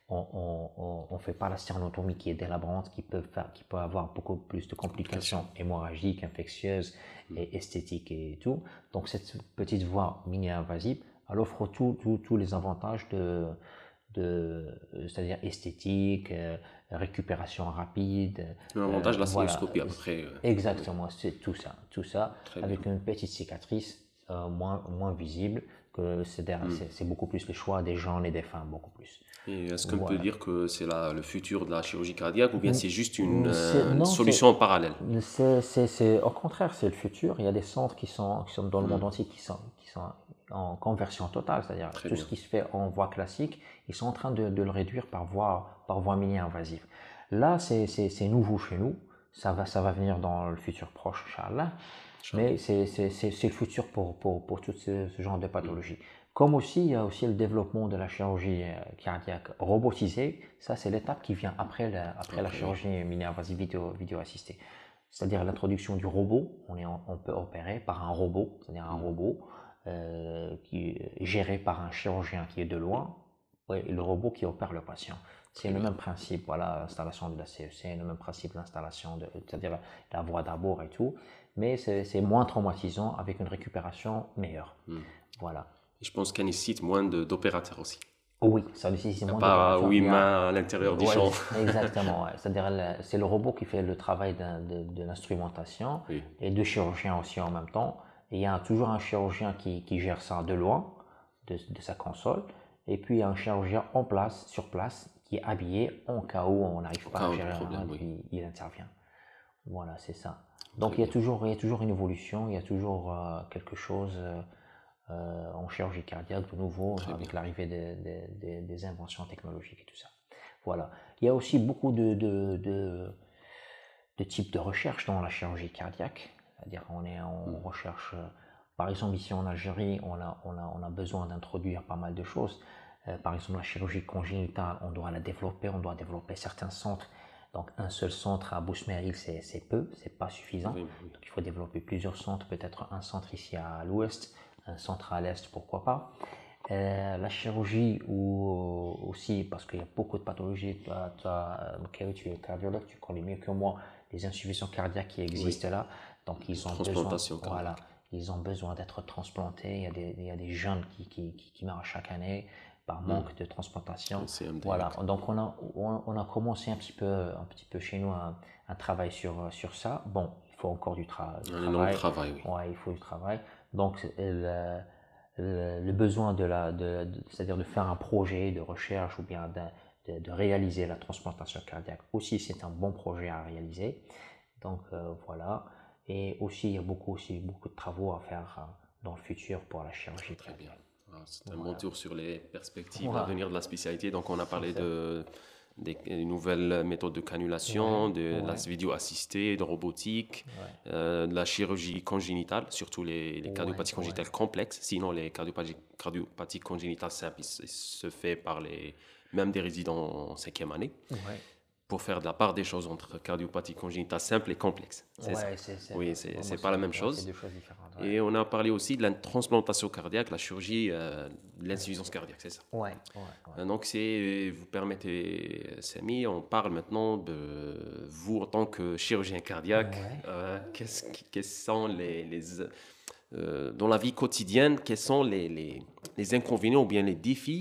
on ne fait pas la sternotomie qui est délabrante, qui peut, faire, qui peut avoir beaucoup plus de complications hémorragiques, infectieuses et esthétiques et tout. Donc cette petite voie mini-invasive, elle offre tous les avantages de, de c'est-à-dire esthétique, euh, récupération rapide. L'avantage de euh, la voilà, célioscopie, à peu près. euh, oui. exactement, c'est tout ça, tout ça Très bien. avec une petite cicatrice euh, moins, moins visible, que c'est Hmm. c'est- c'est beaucoup plus le choix des jeunes et des femmes, beaucoup plus. Et est-ce qu'on peut Voilà. dire que c'est la- le futur de la chirurgie cardiaque ou bien c'est juste une, C'est- euh, une non, solution en parallèle? c'est, c'est, c'est- au contraire, c'est le futur. Il y a des centres qui sont, qui sont dans le Hmm. monde entier qui sont, qui sont en conversion totale, c'est-à-dire Très tout bien. ce qui se fait en voie classique, ils sont en train de, de le réduire par voie, par voie mini-invasive. Là, c'est, c'est, c'est nouveau chez nous. Ça va, ça va venir dans le futur proche, Inch'Allah. Inch'Allah. Mais c'est c'est- c'est- c'est le futur pour, pour, pour tout ce, ce genre de pathologie. Comme aussi, il y a aussi le développement de la chirurgie euh, cardiaque robotisée. Ça, c'est l'étape qui vient après la, après la Après, oui. chirurgie mini-invasive vidéo, vidéo assistée. C'est-à-dire l'introduction du robot. On, est en- on peut opérer par un robot, c'est-à-dire un robot euh, qui est géré par un chirurgien qui est de loin, ouais, et le robot qui opère le patient. C'est Très le bien. même principe, voilà, l'installation de la C E C, le même principe l'installation, de, c'est-à-dire la, la voie d'abord et tout, mais c'est c'est moins traumatisant avec une récupération meilleure. Hmm. Voilà. Et je pense qu'elle nécessite moins de- d'opérateurs aussi. Oui, ça nécessite Il n'y a moins pas d'opérations. huit Il y a- mains à l'intérieur du Ouais, champ. exactement. Ouais. C'est-à-dire le- c'est le robot qui fait le travail d'un- de, de l'instrumentation Oui. et deux chirurgiens aussi en même temps. Et il y a toujours un chirurgien qui, qui gère ça de loin, de, de sa console. Et puis il y a un chirurgien en place, sur place, qui est habillé en cas où on n'arrive pas cas à où de gérer, problème, hein, oui. il, il intervient. Voilà, c'est ça. Donc Très il y a bien. toujours, il y a toujours une évolution, il y a toujours euh, quelque chose euh, euh, en chirurgie cardiaque de nouveau Très avec bien. l'arrivée des, des- des- des inventions technologiques et tout ça. Voilà. Il y a aussi beaucoup de, de, de- de types de recherche dans la chirurgie cardiaque. C'est-à-dire on est en recherche, euh, par exemple ici en Algérie, on a, on a, on a besoin d'introduire pas mal de choses. Euh, par exemple la chirurgie congénitale, on doit la développer, on doit développer certains centres. Donc un seul centre à Bousmeril, c'est c'est peu, c'est pas suffisant. Oui, oui. Donc il faut développer plusieurs centres, peut-être un centre ici à l'ouest, un centre à l'est, pourquoi pas. Euh, la chirurgie ou aussi, parce qu'il y a beaucoup de pathologies, toi, toi, euh, Mikaël, tu es cardiologue, tu connais mieux que moi les insuffisances cardiaques qui existent là. Donc ils ont besoin, Transplantation cardiaque. voilà, ils ont besoin d'être transplantés. Il y a des, il y a des jeunes qui, qui, qui, qui meurent chaque année par manque de transplantation. C'est M D. Voilà, donc on a, on, on a commencé un petit peu, un petit peu chez nous un, un travail sur, sur ça. Bon, il faut encore du, tra du Un travail. énorme travail, oui. Ouais, il faut du travail. Donc le, le, le besoin de la, de, de- c'est-à-dire de faire un projet de recherche ou bien de, de, de réaliser la transplantation cardiaque aussi, c'est un bon projet à réaliser. Donc euh, voilà. Et aussi, il y a beaucoup, aussi, beaucoup de travaux à faire dans le futur pour la chirurgie Très bien. cardiaque. Alors, c'est un Voilà. bon tour sur les perspectives Voilà. à venir de la spécialité. Donc, on a parlé C'est ça. de, des des nouvelles méthodes de cannulation, Ouais, de la ouais, vidéo assistée, de robotique, ouais, euh, de la chirurgie congénitale, surtout les, les ouais, cardiopathies ouais, congénitales complexes. Sinon, les cardiopathies, cardiopathies congénitales simples, ils se ils se fait par les, même des résidents en cinquième année, ouais. pour faire de la part des choses entre cardiopathie congénitale simple et complexe. C'est ça. Ouais, c'est c'est Oui, c'est vraiment c'est pas c'est la même ouais, c'est chose. deux choses différentes. Ouais, Et on a parlé aussi de la transplantation cardiaque, la chirurgie euh, de l'insuffisance cardiaque, c'est ça. ouais, ouais, ouais. Euh, Donc, c'est, vous permettez, Samy, on parle maintenant de vous en tant que chirurgien cardiaque. Ouais. Euh, qu'est-ce qui- quels sont les, les, euh, dans la vie quotidienne, quels sont les, les, les inconvénients ou bien les défis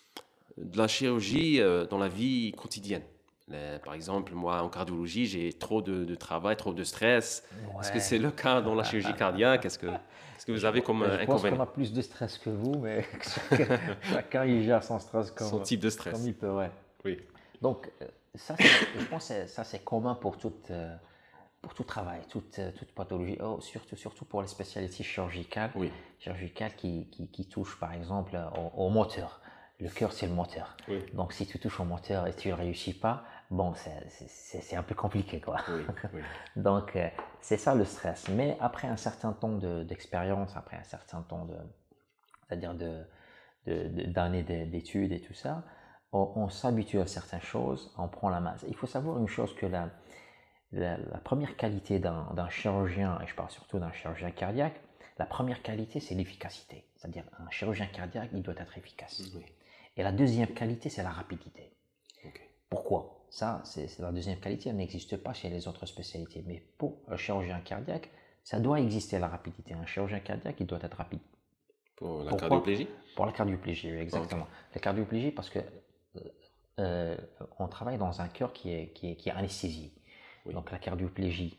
de la chirurgie euh, dans la vie quotidienne? Les- par exemple, moi, en cardiologie, j'ai trop de, de travail, trop de stress. Est-ce que Ouais. c'est le cas dans la chirurgie cardiaque? Est-ce que, est-ce que vous Je, avez comme euh, je pense qu'on inconvénient a plus de stress que vous, mais chacun, chacun il gère son stress son comme, type de comme stress? il peut. Ouais. Oui. Donc, euh, ça, c'est- je pense que ça, c'est commun pour toute, euh, pour tout travail, toute, euh, toute pathologie, oh, surtout, surtout pour les spécialités chirurgicales, Oui. chirurgicales qui, qui, qui touchent par exemple au, au moteur. Le cœur, c'est le moteur. Oui. Donc, si tu touches au moteur et tu ne réussis pas, bon, c'est- c'est c'est un peu compliqué, quoi. Oui, oui. Donc, euh, c'est ça le stress. Mais après un certain temps de- d'expérience, après un certain temps de, c'est-à-dire de, de- de- d'années de- d'études et tout ça, on, on s'habitue à certaines choses, on prend la masse. Il faut savoir une chose que la, la, la première qualité d'un d'un chirurgien, et je parle surtout d'un chirurgien cardiaque, la première qualité, c'est l'efficacité. C'est-à-dire un chirurgien cardiaque, il doit être efficace. Oui. Et la deuxième qualité, c'est la rapidité. Ok. Pourquoi? Ça, c'est c'est la deuxième qualité, elle n'existe pas chez les autres spécialités. Mais pour un chirurgien cardiaque, ça doit exister la rapidité. Un chirurgien cardiaque, il doit être rapide. Pour la Pourquoi? cardioplégie? Pour la cardioplégie, oui, exactement. La cardioplégie, parce que euh, euh, on travaille dans un cœur qui est, qui est, qui est anesthésié. Oui. Donc la cardioplégie,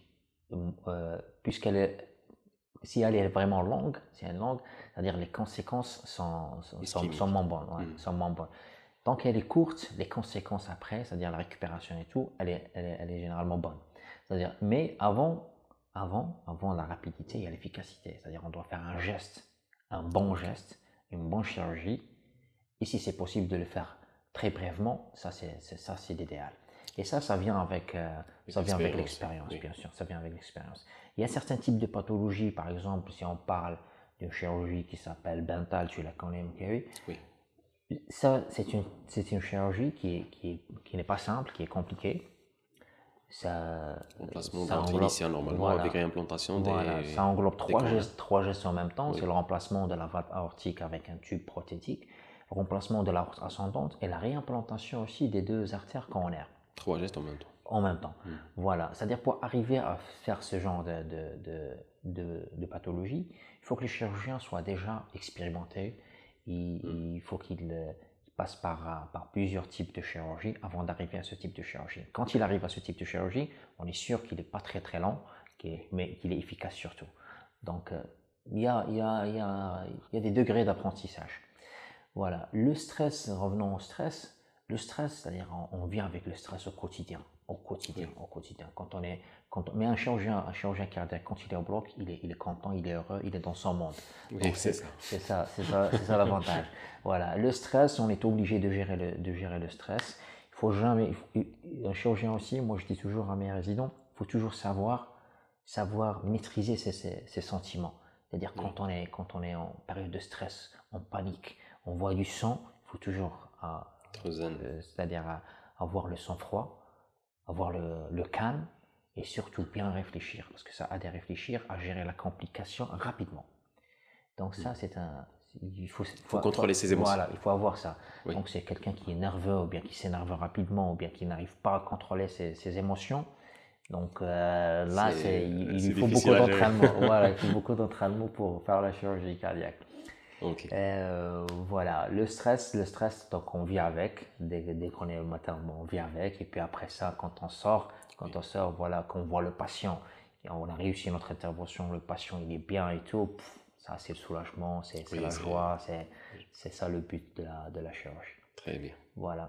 euh, puisqu'elle est, si elle est vraiment longue, si elle est longue, c'est-à-dire les conséquences sont, sont, sont, Ischémique. sont moins bonnes. Ouais, Mm. sont moins bonnes. Tant qu'elle est courte, les conséquences après, c'est-à-dire la récupération et tout, elle est, elle est, elle est généralement bonne. C'est-à-dire, mais avant, avant, avant la rapidité, il y a l'efficacité. C'est-à-dire, on doit faire un geste, un bon geste, une bonne chirurgie. Et si c'est possible de le faire très brièvement, ça c'est c'est- ça c'est l'idéal. Et ça, ça vient avec, euh, ça vient avec l'expérience, oui. bien sûr. Ça vient avec l'expérience. Il y a certains types de pathologies, par exemple, si on parle d'une chirurgie qui s'appelle Bentall, tu la connais, Mkawi. Oui. Ça, c'est une, c'est une chirurgie qui, est, qui, est, qui n'est pas simple, qui est compliquée. Ça, Remplacement ça d'ordre englobe- initial normalement voilà. avec réimplantation Voilà, des. ça englobe trois cornes. gestes, trois gestes en même temps. Oui. C'est le remplacement de la valve aortique avec un tube prothétique, le remplacement de l'aorte ascendante et la réimplantation aussi des deux artères coronaires Trois gestes en même temps. en même temps. Mm. Voilà, c'est-à-dire pour arriver à faire ce genre de, de, de, de, de pathologie, il faut que le chirurgien soit déjà expérimenté, il, Mm. il faut qu'il euh, passe par, par plusieurs types de chirurgie avant d'arriver à ce type de chirurgie. Quand il arrive à ce type de chirurgie, on est sûr qu'il n'est pas très très lent, qu'il est- mais qu'il est efficace surtout. Donc, euh, il y a, il y a, il y a, il y a des degrés d'apprentissage. Voilà, le stress, revenons au stress, le stress, c'est-à-dire on, on vient avec le stress au quotidien, au quotidien, Oui. au quotidien. Quand on est, quand on- mais un chirurgien, un chirurgien cardiaque, quand il est au bloc, il est, il est content, il est heureux, il est dans son monde. Oui, Donc c'est ça. c'est ça, c'est ça, c'est ça l'avantage. Voilà, le stress, on est obligé de gérer le, de gérer le stress. Il faut jamais, il faut- un chirurgien aussi, moi je dis toujours à mes résidents, il faut toujours savoir, savoir maîtriser ses, ses- ses sentiments. C'est-à-dire Oui. quand on est, quand on est en période de stress, en panique, on voit du sang, il faut toujours, ah, Trop zen. euh, c'est-à-dire à- avoir le sang-froid, avoir le, le calme et surtout bien réfléchir, parce que ça aide à réfléchir, à gérer la complication rapidement. Donc ça, c'est un, il faut, il Faut contrôler ses émotions. Voilà, il faut avoir ça. Oui. Donc c'est quelqu'un qui est nerveux ou bien qui s'énerve rapidement ou bien qui n'arrive pas à contrôler ses, ses émotions. Donc euh, là, C'est- c'est, il, il c'est lui faut difficile beaucoup à gérer. d'entraînement. Voilà, il faut beaucoup d'entraînement pour faire la chirurgie cardiaque. Ok. Euh, voilà, le stress, le stress, donc on vit avec, dès, dès qu'on est au matin, bon, on vit avec, et puis après ça, quand on sort, quand Oui. on sort, voilà, qu'on voit le patient, et on a réussi notre intervention, le patient il est bien et tout, pff, ça c'est le soulagement, c'est c'est Oui, la c'est- joie, c'est c'est ça le but de la, de la chirurgie. Très bien. Voilà.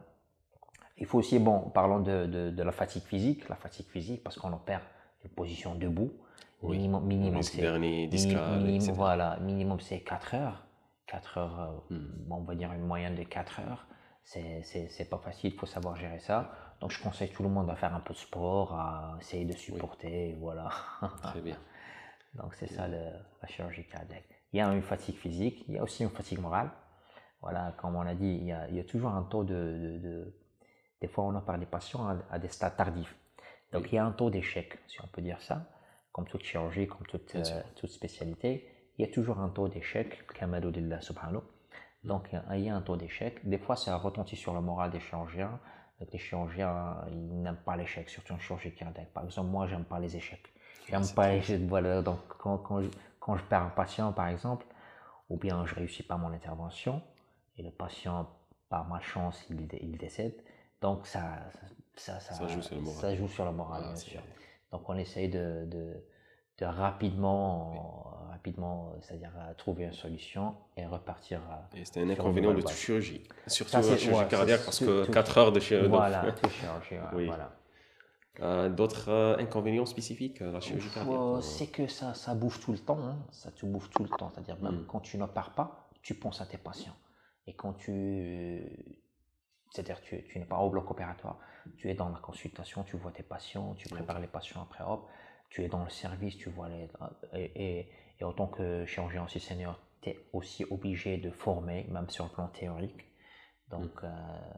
Il faut aussi, bon, parlons de, de, de la fatigue physique, la fatigue physique, parce qu'on opère une position debout, Oui. Minimum, minimum Risque c'est dernier, mini- discal, minimum, et cetera. voilà, minimum c'est quatre heures. quatre heures, euh, Hmm. bon, on va dire une moyenne de quatre heures. C'est, c'est, c'est pas facile, il faut savoir gérer ça. Donc je conseille tout le monde à faire un peu de sport, à essayer de Oui, supporter, voilà. très bien. Donc c'est ça Et- le- la chirurgie cardiaque. Il y a une fatigue physique, il y a aussi une fatigue morale. Voilà, comme on l'a dit, il y a, il y a toujours un taux de, de- de- des fois on a par des patients à, à des stades tardifs. Donc Oui, il y a un taux d'échec, si on peut dire ça, comme toute chirurgie, comme toute, bien sûr. euh, toute spécialité. Il y a toujours un taux d'échec, kamalou lillah subhanahu. Donc il y a un taux d'échec. Des fois ça retentit sur le moral des chirurgiens. Donc, les chirurgiens, ils n'aiment pas l'échec, surtout en chirurgie cardiaque. Par exemple, moi, j'aime pas les échecs. Ah, J'aime c'est pas très les bien. échecs. Voilà, donc quand, quand, je, quand je perds un patient, par exemple, ou bien je réussis pas mon intervention, et le patient, par malchance, il, il décède, donc ça, ça, ça, Ça joue sur le moral. ça joue sur le moral, Ah, bien c'est sûr. Donc on essaye de, de, de rapidement, rapidement, c'est-à-dire euh, trouver une solution et repartir euh, et c'est un sur une inconvénient nouvelle de toute base. chirurgie, Ça, surtout la c'est chirurgie ouais, c'est cardiaque, parce tout, que tout- quatre heures de chirurgie. voilà, tout chirurgie, ouais, Oui. voilà. Euh, d'autres euh, inconvénients spécifiques à la chirurgie Ouf, cardiaque? euh, ou- c'est que ça, ça bouge tout le temps, hein. Ça te bouffe tout le temps. C'est-à-dire même Hmm, quand tu n'opères pas, tu penses à tes patients. Et quand tu, c'est-à-dire tu, tu n'es pas au bloc opératoire, tu es dans la consultation, tu vois tes patients, tu prépares ok. les patients après hop, tu es dans le service, tu vois les, et, et, et en tant que chirurgien aussi senior, tu es aussi obligé de former, même sur le plan théorique. Hmm, Donc euh,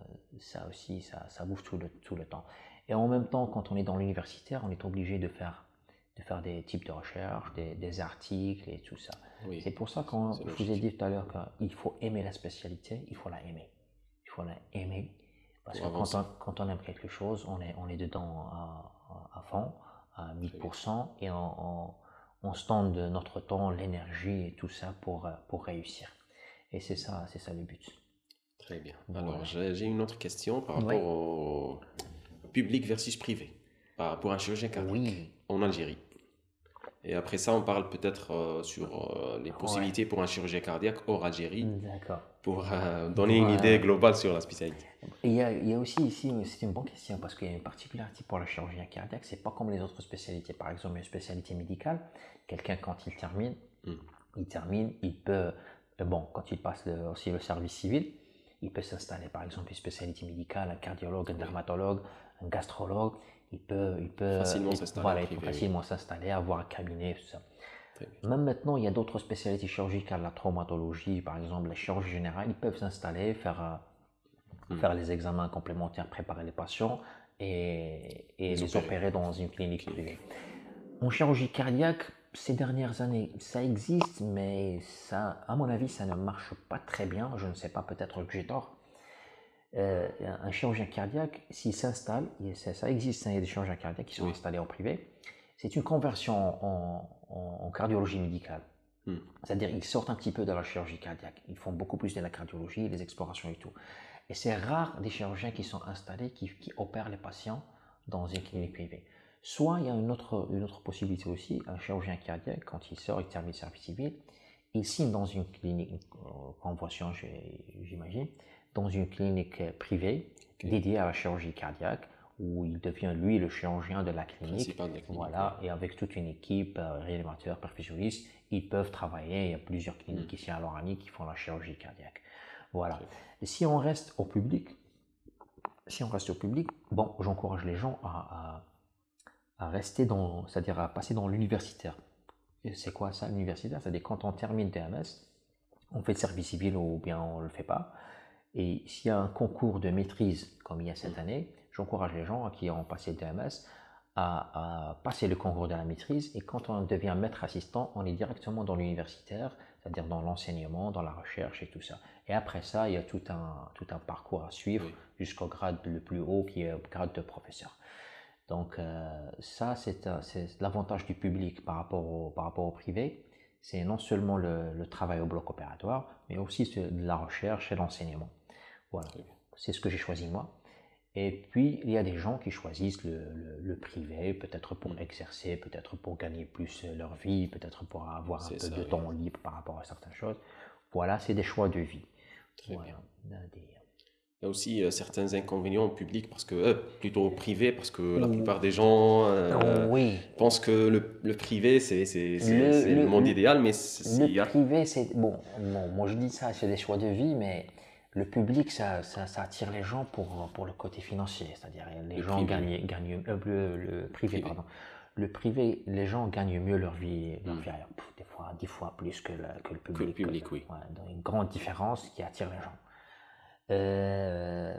ça aussi, ça, ça bouge tout le, tout le temps. Et en même temps, quand on est dans l'universitaire, on est obligé de faire, de faire des types de recherches, des, des articles et tout ça. oui, C'est pour ça que quand c'est je vous ai logique. dit tout à l'heure qu'il faut aimer la spécialité, il faut la aimer. Il faut la aimer. Parce Pour que quand avancer. on, quand on aime quelque chose, on est, on est dedans à, à, à fond, à Très bien. mille pour cent, et on, on, on se donne de notre temps, l'énergie et tout ça pour, pour réussir. Et c'est ça, c'est ça le but. Très bien. Alors, Voilà. j'ai j'ai une autre question par Oui. rapport au public versus privé, par, pour un chirurgien cardiaque Oui. en Algérie. Et après ça, on parle peut-être euh, sur euh, les Ouais. possibilités pour un chirurgien cardiaque hors Algérie, D'accord. pour euh, donner une Ouais. idée globale sur la spécialité. Et il y a, il y a aussi ici, c'est une bonne question parce qu'il y a une particularité pour le chirurgien cardiaque, c'est pas comme les autres spécialités. Par exemple, une spécialité médicale, quelqu'un quand il termine, Hmm, il termine, il peut, euh, bon, quand il passe le- aussi le service civil, il peut s'installer par exemple une spécialité médicale, un cardiologue, un oui. dermatologue, un gastrologue, il peut, il peut, Facilement il- s'installer voilà, en il peut privé, oui. facilement s'installer, avoir un cabinet, tout ça. Très bien. Même maintenant, il y a d'autres spécialités chirurgicales, la traumatologie, par exemple, la chirurgie générale, ils peuvent s'installer, faire, euh, Hmm. faire les examens complémentaires, préparer les patients et, et Les les opérer. opérer dans une clinique Clinique. privée. En chirurgie cardiaque, ces dernières années, ça existe, mais ça, à mon avis, ça ne marche pas très bien. Je ne sais pas, peut-être que j'ai tort. Euh, un chirurgien cardiaque, s'il s'installe, ça, ça existe, hein, il y a des chirurgiens cardiaques qui sont Oui. installés en privé. C'est une conversion en, en- en cardiologie médicale. Hmm. C'est-à-dire ils sortent un petit peu de la chirurgie cardiaque. Ils font beaucoup plus de la cardiologie, des explorations et tout. Et c'est rare des chirurgiens qui sont installés, qui, qui opèrent les patients dans une clinique privée. Soit il y a une autre, une autre possibilité aussi, un chirurgien cardiaque, quand il sort, il termine le service civil, il signe dans une clinique, une convention j'imagine, dans une clinique privée Ok. dédiée à la chirurgie cardiaque, où il devient lui le chirurgien de la clinique. Principal de la clinique, Voilà, et avec toute une équipe, euh, réanimateurs, perfusionnistes, ils peuvent travailler. Il y a plusieurs cliniques Hmm. ici à Loranie qui font la chirurgie cardiaque. Voilà. Très bien. Et si on reste au public, si on reste au public, bon, j'encourage les gens à, à, à rester dans, c'est-à-dire à passer dans l'universitaire. Et c'est quoi ça, l'universitaire? C'est-à-dire quand on termine T M S, on fait le service civil ou bien on ne le fait pas. Et s'il y a un concours de maîtrise, comme il y a cette Hmm. année, j'encourage les gens qui ont passé le T M S à, à passer le concours de la maîtrise. Et quand on devient maître assistant, on est directement dans l'universitaire, c'est-à-dire dans l'enseignement, dans la recherche et tout ça. Et après ça, il y a tout un, tout un parcours à suivre Oui. jusqu'au grade le plus haut qui est le grade de professeur. Donc euh, ça, c'est euh, c'est l'avantage du public par rapport au, par rapport au privé. C'est non seulement le, le travail au bloc opératoire, mais aussi de la recherche et l'enseignement. Voilà, Très bien. c'est ce que j'ai choisi moi. Et puis, il y a des gens qui choisissent le, le, le privé, peut-être pour Hmm. exercer, peut-être pour gagner plus leur vie, peut-être pour avoir un C'est peu ça, de oui. temps libre par rapport à certaines choses. Voilà, c'est des choix de vie. Très Voilà. bien. Des- Il y a aussi euh, certains inconvénients au public, parce que, euh, plutôt au privé, parce que la plupart des gens euh, Oui, pensent que le, le privé, c'est c'est- c'est- le, c'est le le, monde le, idéal, mais c'est- le il y a... privé, c'est bon, bon, moi je dis ça, c'est des choix de vie, mais le public, ça, ça, ça attire les gens pour, pour le côté financier, c'est-à-dire les Le gens privé, oui. gagnent, gagnent euh, le, le privé, Privé. pardon. Le privé, les gens gagnent mieux leur vie, leur Hmm. vie ailleurs, Pff, des fois, dix fois plus que le, que le Que le public. que- public, oui. ouais, donc une grande différence qui attire les gens. Euh,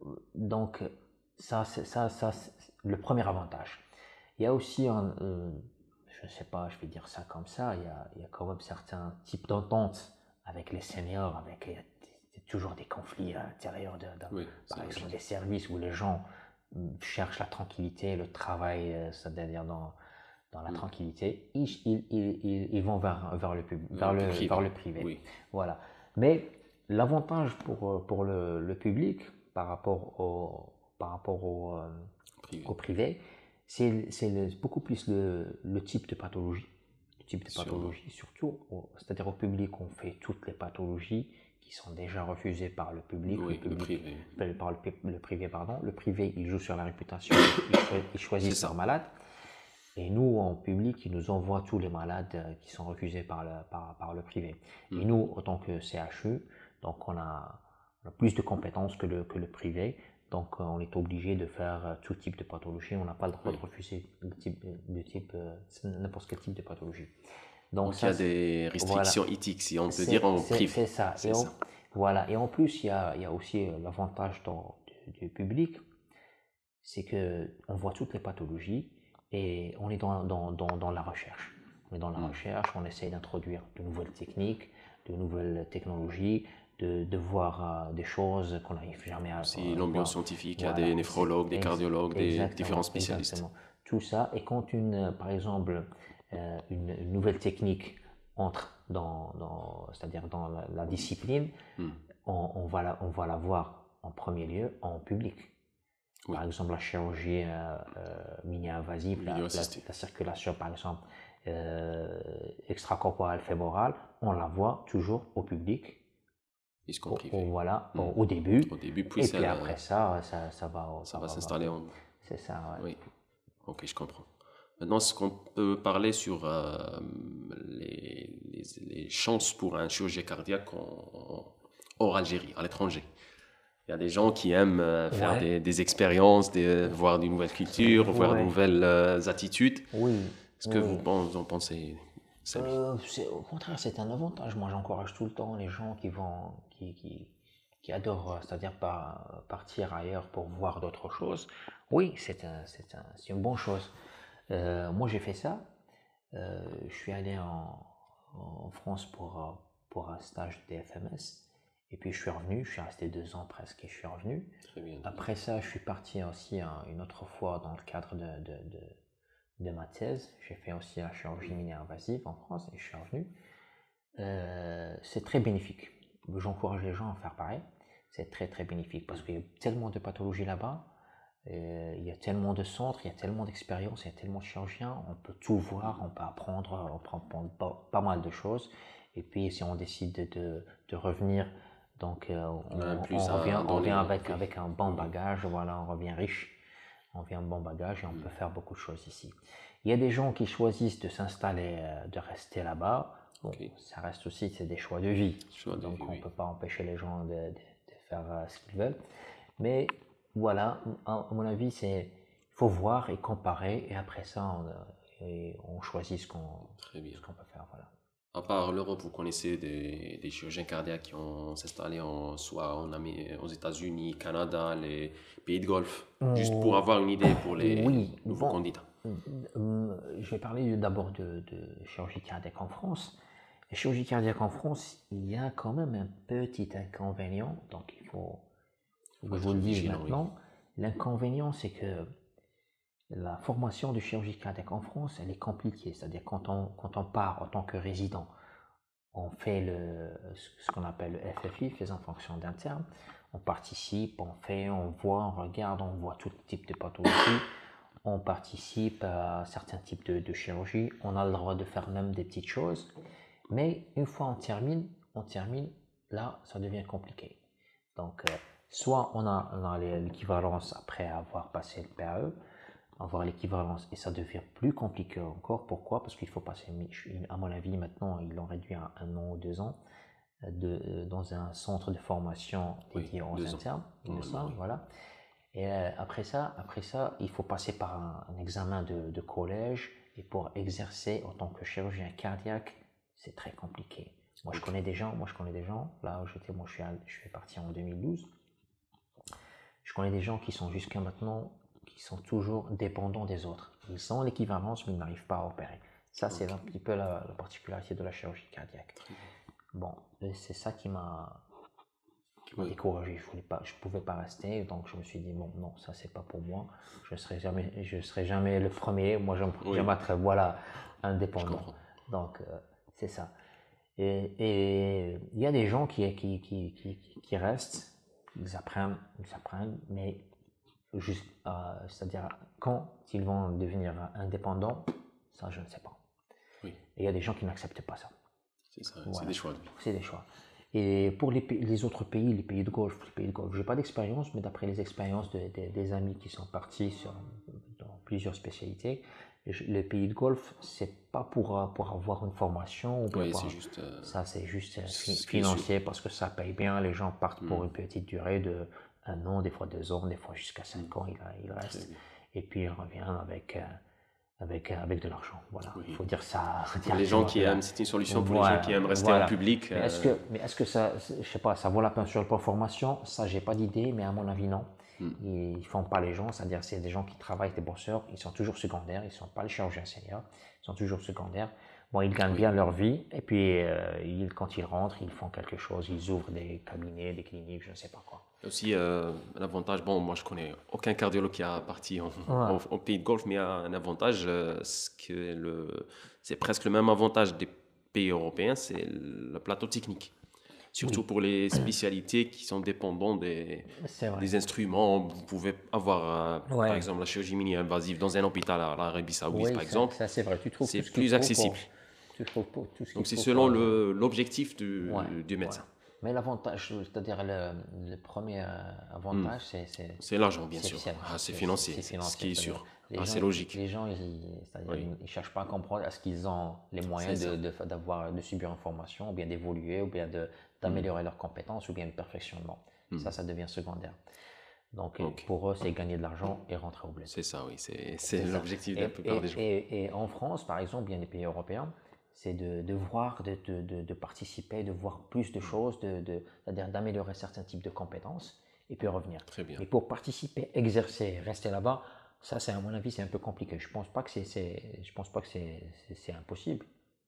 donc, ça, c'est ça, ça, c'est le premier avantage. Il y a aussi un, euh, je ne sais pas, je vais dire ça comme ça, il y a, il y a quand même certains types d'entente avec les seniors, avec il y a t- toujours des conflits à l'intérieur de, de- Oui, c'est par exemple, logique. des services où les gens mm, cherchent la tranquillité, le travail, euh, c'est-à-dire dans, dans la Hmm. tranquillité, ils, ils, ils, ils- ils vont vers, vers le pub, vers Euh, le, le privé, vers le privé. oui. Voilà. Mais l'avantage pour, euh, pour le, le public par rapport au, par rapport au, euh, Privé. au privé, c'est c'est le- beaucoup plus le, le type de pathologie. Le type de Sûrement. pathologie, surtout, au- c'est-à-dire au public, on fait toutes les pathologies qui sont déjà refusées par le public, Oui, le le public privé. euh, par le, pi- le privé, pardon. Le privé, il joue sur la réputation, ils, choi- ils choisissent C'est ça. leurs malades. Et nous, en public, ils nous envoient tous les malades euh, qui sont refusés par le, par, par le privé. Et Hmm. nous, en tant que C H U, donc on a, on a plus de compétences que le, que le privé. Donc euh, on est obligé de faire euh, tout type de pathologie. On n'a pas le droit Oui. de refuser le type, de type, euh, n'importe quel type de pathologie. Donc, Donc il y ça, a c'est- des voilà. restrictions éthiques, si on peut C'est dire, en c'est- privé. c'est ça. C'est Et, en, ça. voilà. Et en plus, il y a, il y a aussi euh, l'avantage dans- du, du public, c'est que on voit toutes les pathologies et on est dans, dans, dans, dans la recherche. On est dans la Hmm. recherche, on essaie d'introduire de nouvelles techniques, de nouvelles technologies, de, de voir euh, des choses qu'on n'arrive jamais à, Si à l'ambiance voir. scientifique, il y a Voilà, des néphrologues, des ex- cardiologues, des exactement, différents spécialistes. exactement. Tout ça, et quand une, euh, par exemple, euh, une, une nouvelle technique entre dans, dans c'est-à-dire dans la, la discipline, Hmm. on, on va la, on va la voir en premier lieu en public. Oui. Par exemple, la chirurgie euh, euh, mini-invasive, la, Vidéo la- assistée. la circulation, par exemple, euh, extracorporelle fémorale, on la voit toujours au public, Puisqu'en au, au- privé. voilà, Hmm. au, au début. Au début, puis Et ça, puis après ça, ça, ça va, ça va s'installer en... C'est ça, ouais. Oui, ok, je comprends. Maintenant, est-ce qu'on peut parler sur euh, les, les, les chances pour un chirurgien cardiaque en, hors Algérie, à l'étranger? Il y a des gens qui aiment euh, faire Ouais. des, des expériences, des- voir de nouvelles cultures, voir de Ouais. nouvelles euh, attitudes. Oui. Est-ce que oui. vous, pen- vous en pensez, Samy? Euh, c'est- au contraire, c'est un avantage. Moi, j'encourage tout le temps les gens qui vont, qui, qui, qui adorent, euh, c'est-à-dire par- partir ailleurs pour voir d'autres choses. Oui, c'est un, c'est un, c'est une bonne chose. Euh, moi, j'ai fait ça. Euh, je suis allé en, en France pour, euh, pour un stage de D F M S. Et puis, je suis revenu. Je suis resté deux ans presque et je suis revenu. Très bien. Après ça, je suis parti aussi hein, une autre fois dans le cadre de, de, de, de ma thèse. J'ai fait aussi la chirurgie mini-invasive en France et je suis revenu. Euh, c'est très bénéfique. J'encourage les gens à faire pareil. C'est très très bénéfique parce qu'il y a tellement de pathologies là-bas. Euh, il y a tellement de centres, il y a tellement d'expériences, il y a tellement de chirurgiens. On peut tout voir, on peut apprendre, on peut apprendre pas, pas mal de choses. Et puis si on décide de, de, de revenir, donc euh, on, On a un plus on à revient, on donner, revient avec, ok. avec un bon bagage. Voilà, on revient riche. On vient un bon bagage et on Mm. peut faire beaucoup de choses ici. Il y a des gens qui choisissent de s'installer, euh, de rester là-bas. Bon, Ok. ça reste aussi, c'est des choix de vie. Choix de Donc vie, on ne oui. peut pas empêcher les gens de, de- de faire euh, ce qu'ils veulent. Mais voilà, à à mon avis, c'est il faut voir et comparer et après ça, on, euh, et on choisit ce qu'on Très bien. ce qu'on peut faire. Voilà. À part l'Europe, vous connaissez des, des chirurgiens cardiaques qui ont s'installé en, soit en Amé- aux États-Unis, Canada, les pays de Golfe, juste pour Oh, avoir une idée pour les oui, nouveaux bon. candidats. Euh, Je vais parler d'abord de, de chirurgie cardiaque en France. La chirurgie cardiaque en France, il y a quand même un petit inconvénient, donc il faut, faut que Faut je être vous le dise vigilant, oui. maintenant. L'inconvénient, c'est que la formation de chirurgie cardiaque en France, elle est compliquée. C'est-à-dire quand on, quand on part en tant que résident, on fait le, ce qu'on appelle le F F I, faisant fonction d'interne. On participe, on fait, on voit, on regarde, on voit tout type de pathologie. On participe à certains types de, de chirurgie. On a le droit de faire même des petites choses. Mais une fois on termine, on termine, là, ça devient compliqué. Donc, euh, Soit on a, on a l'équivalence après avoir passé le P A E, avoir l'équivalence et ça devient plus compliqué encore. Pourquoi? Parce qu'il faut passer, à mon avis, maintenant ils l'ont réduit à un an ou deux ans de, dans un centre de formation dédié Oui, aux deux ans. internes, il me Normalement, semble, oui. voilà. Et euh, après ça, après ça, il faut passer par un, un examen de, de collège et pour exercer en tant que chirurgien cardiaque, c'est très compliqué. Moi, je Ok. connais des gens, moi je connais des gens, là où j'étais, moi je suis, à- je suis parti en deux mille douze, je connais des gens qui sont jusqu'à maintenant, qui sont toujours dépendants des autres. Ils ont l'équivalence, mais ils n'arrivent pas à opérer. Ça, c'est Ok. un petit peu la, la particularité de la chirurgie cardiaque. Très bien. Bon, et c'est ça qui m'a qui m'a Oui. découragé. Je voulais pas, je pouvais pas rester, donc je me suis dit bon, non, ça c'est pas pour moi. Je serai jamais, je serai jamais le premier. Moi, j'aime Oui. j'aime être voilà Je indépendant. comprends. Donc euh, c'est ça. Et et il y a des gens qui qui qui qui, qui restent, ils apprennent, ils apprennent, mais juste, euh, c'est-à-dire quand ils vont devenir indépendants, ça je ne sais pas. Oui, Et il y a des gens qui n'acceptent pas ça. c'est ça. C'est Voilà. des choix de vie. C'est des choix. Et pour les, pays- les autres pays, les pays de Golfe, les pays de Golfe, j'ai pas d'expérience, mais d'après les expériences de- de- des amis qui sont partis sur, dans plusieurs spécialités, les, les pays de Golfe, c'est pas pour, euh, pour avoir une formation ou bien Oui, pour- c'est juste. euh, ça, c'est juste euh, fi- ce qui est sûr. financier parce que ça paye bien. Les gens partent pour Hmm. une petite durée de un an, des fois deux ans, des fois jusqu'à cinq ans, il, il Très reste. bien. Et puis il revient avec, euh, avec, euh, avec de l'argent. Voilà, il Oui. faut dire ça. Pour les gens qui aiment, c'est une solution pour les gens qui aiment rester Voilà. en public. Mais est-ce euh, que, mais est-ce que ça, je sais pas, ça vaut la peine sur le plan formation? Ça, j'ai pas d'idée, mais à mon avis, non. Hmm. Ils font pas les gens, c'est-à-dire c'est des gens qui travaillent, des bosseurs, ils sont toujours secondaires, ils sont pas les chirurgiens seniors, ils sont toujours secondaires. Bon, ils gagnent Oui. bien leur vie, et puis euh, ils, quand ils rentrent, ils font quelque chose, ils ouvrent des cabinets, des cliniques, je ne sais pas quoi. Il y a aussi euh, un avantage, bon, moi je connais aucun cardiologue qui a parti en, Ouais. en- en pays de Golfe, mais il y a un avantage, euh, c'est que le, c'est presque le même avantage des pays européens, c'est le plateau technique. Surtout Oui. pour les spécialités qui sont dépendantes des, C'est vrai. des instruments. Vous pouvez avoir, euh, Ouais. par exemple, la chirurgie mini-invasive dans un hôpital à l'Arabie Saoudite, Oui, par ça, exemple. ça, c'est vrai. Tu trouves c'est tout ce qu'il plus faut accessible. Pour, tu trouves pour tout ce qu'il Donc c'est faut selon pour- le- l'objectif du, Ouais, du médecin. ouais. Mais l'avantage, c'est-à-dire le, le premier euh, avantage, c'est c'est C'est l'argent, bien c'est- sûr. c'est- Ah, c'est c'est- financier, c'est c'est ce financier, qui est c'est-à-dire sûr. les Ah, gens, c'est logique. Les gens, ils, c'est-à-dire, Oui. ils, ils cherchent pas à comprendre est-ce qu'ils ont les moyens C'est de, de, d'avoir, de subir une formation, ou bien d'évoluer, ou bien de, d'améliorer leurs compétences, ou bien le perfectionnement. Ça, ça devient secondaire. Donc Ok. pour eux, c'est gagner de l'argent et rentrer au bled. C'est ça, oui. C'est c'est C'est ça. l'objectif de Et, la plupart et- des gens. et- et en France, par exemple, bien des pays européens, c'est de, de voir, de, de- de- de participer, de voir plus de choses, de, de- c'est-à-dire d'améliorer certains types de compétences et puis revenir. Très bien. Mais pour participer, exercer, rester là-bas, ça, c'est à mon avis, c'est un peu compliqué. Je pense pas que c'est, c'est- je pense pas que c'est, c'est- c'est impossible.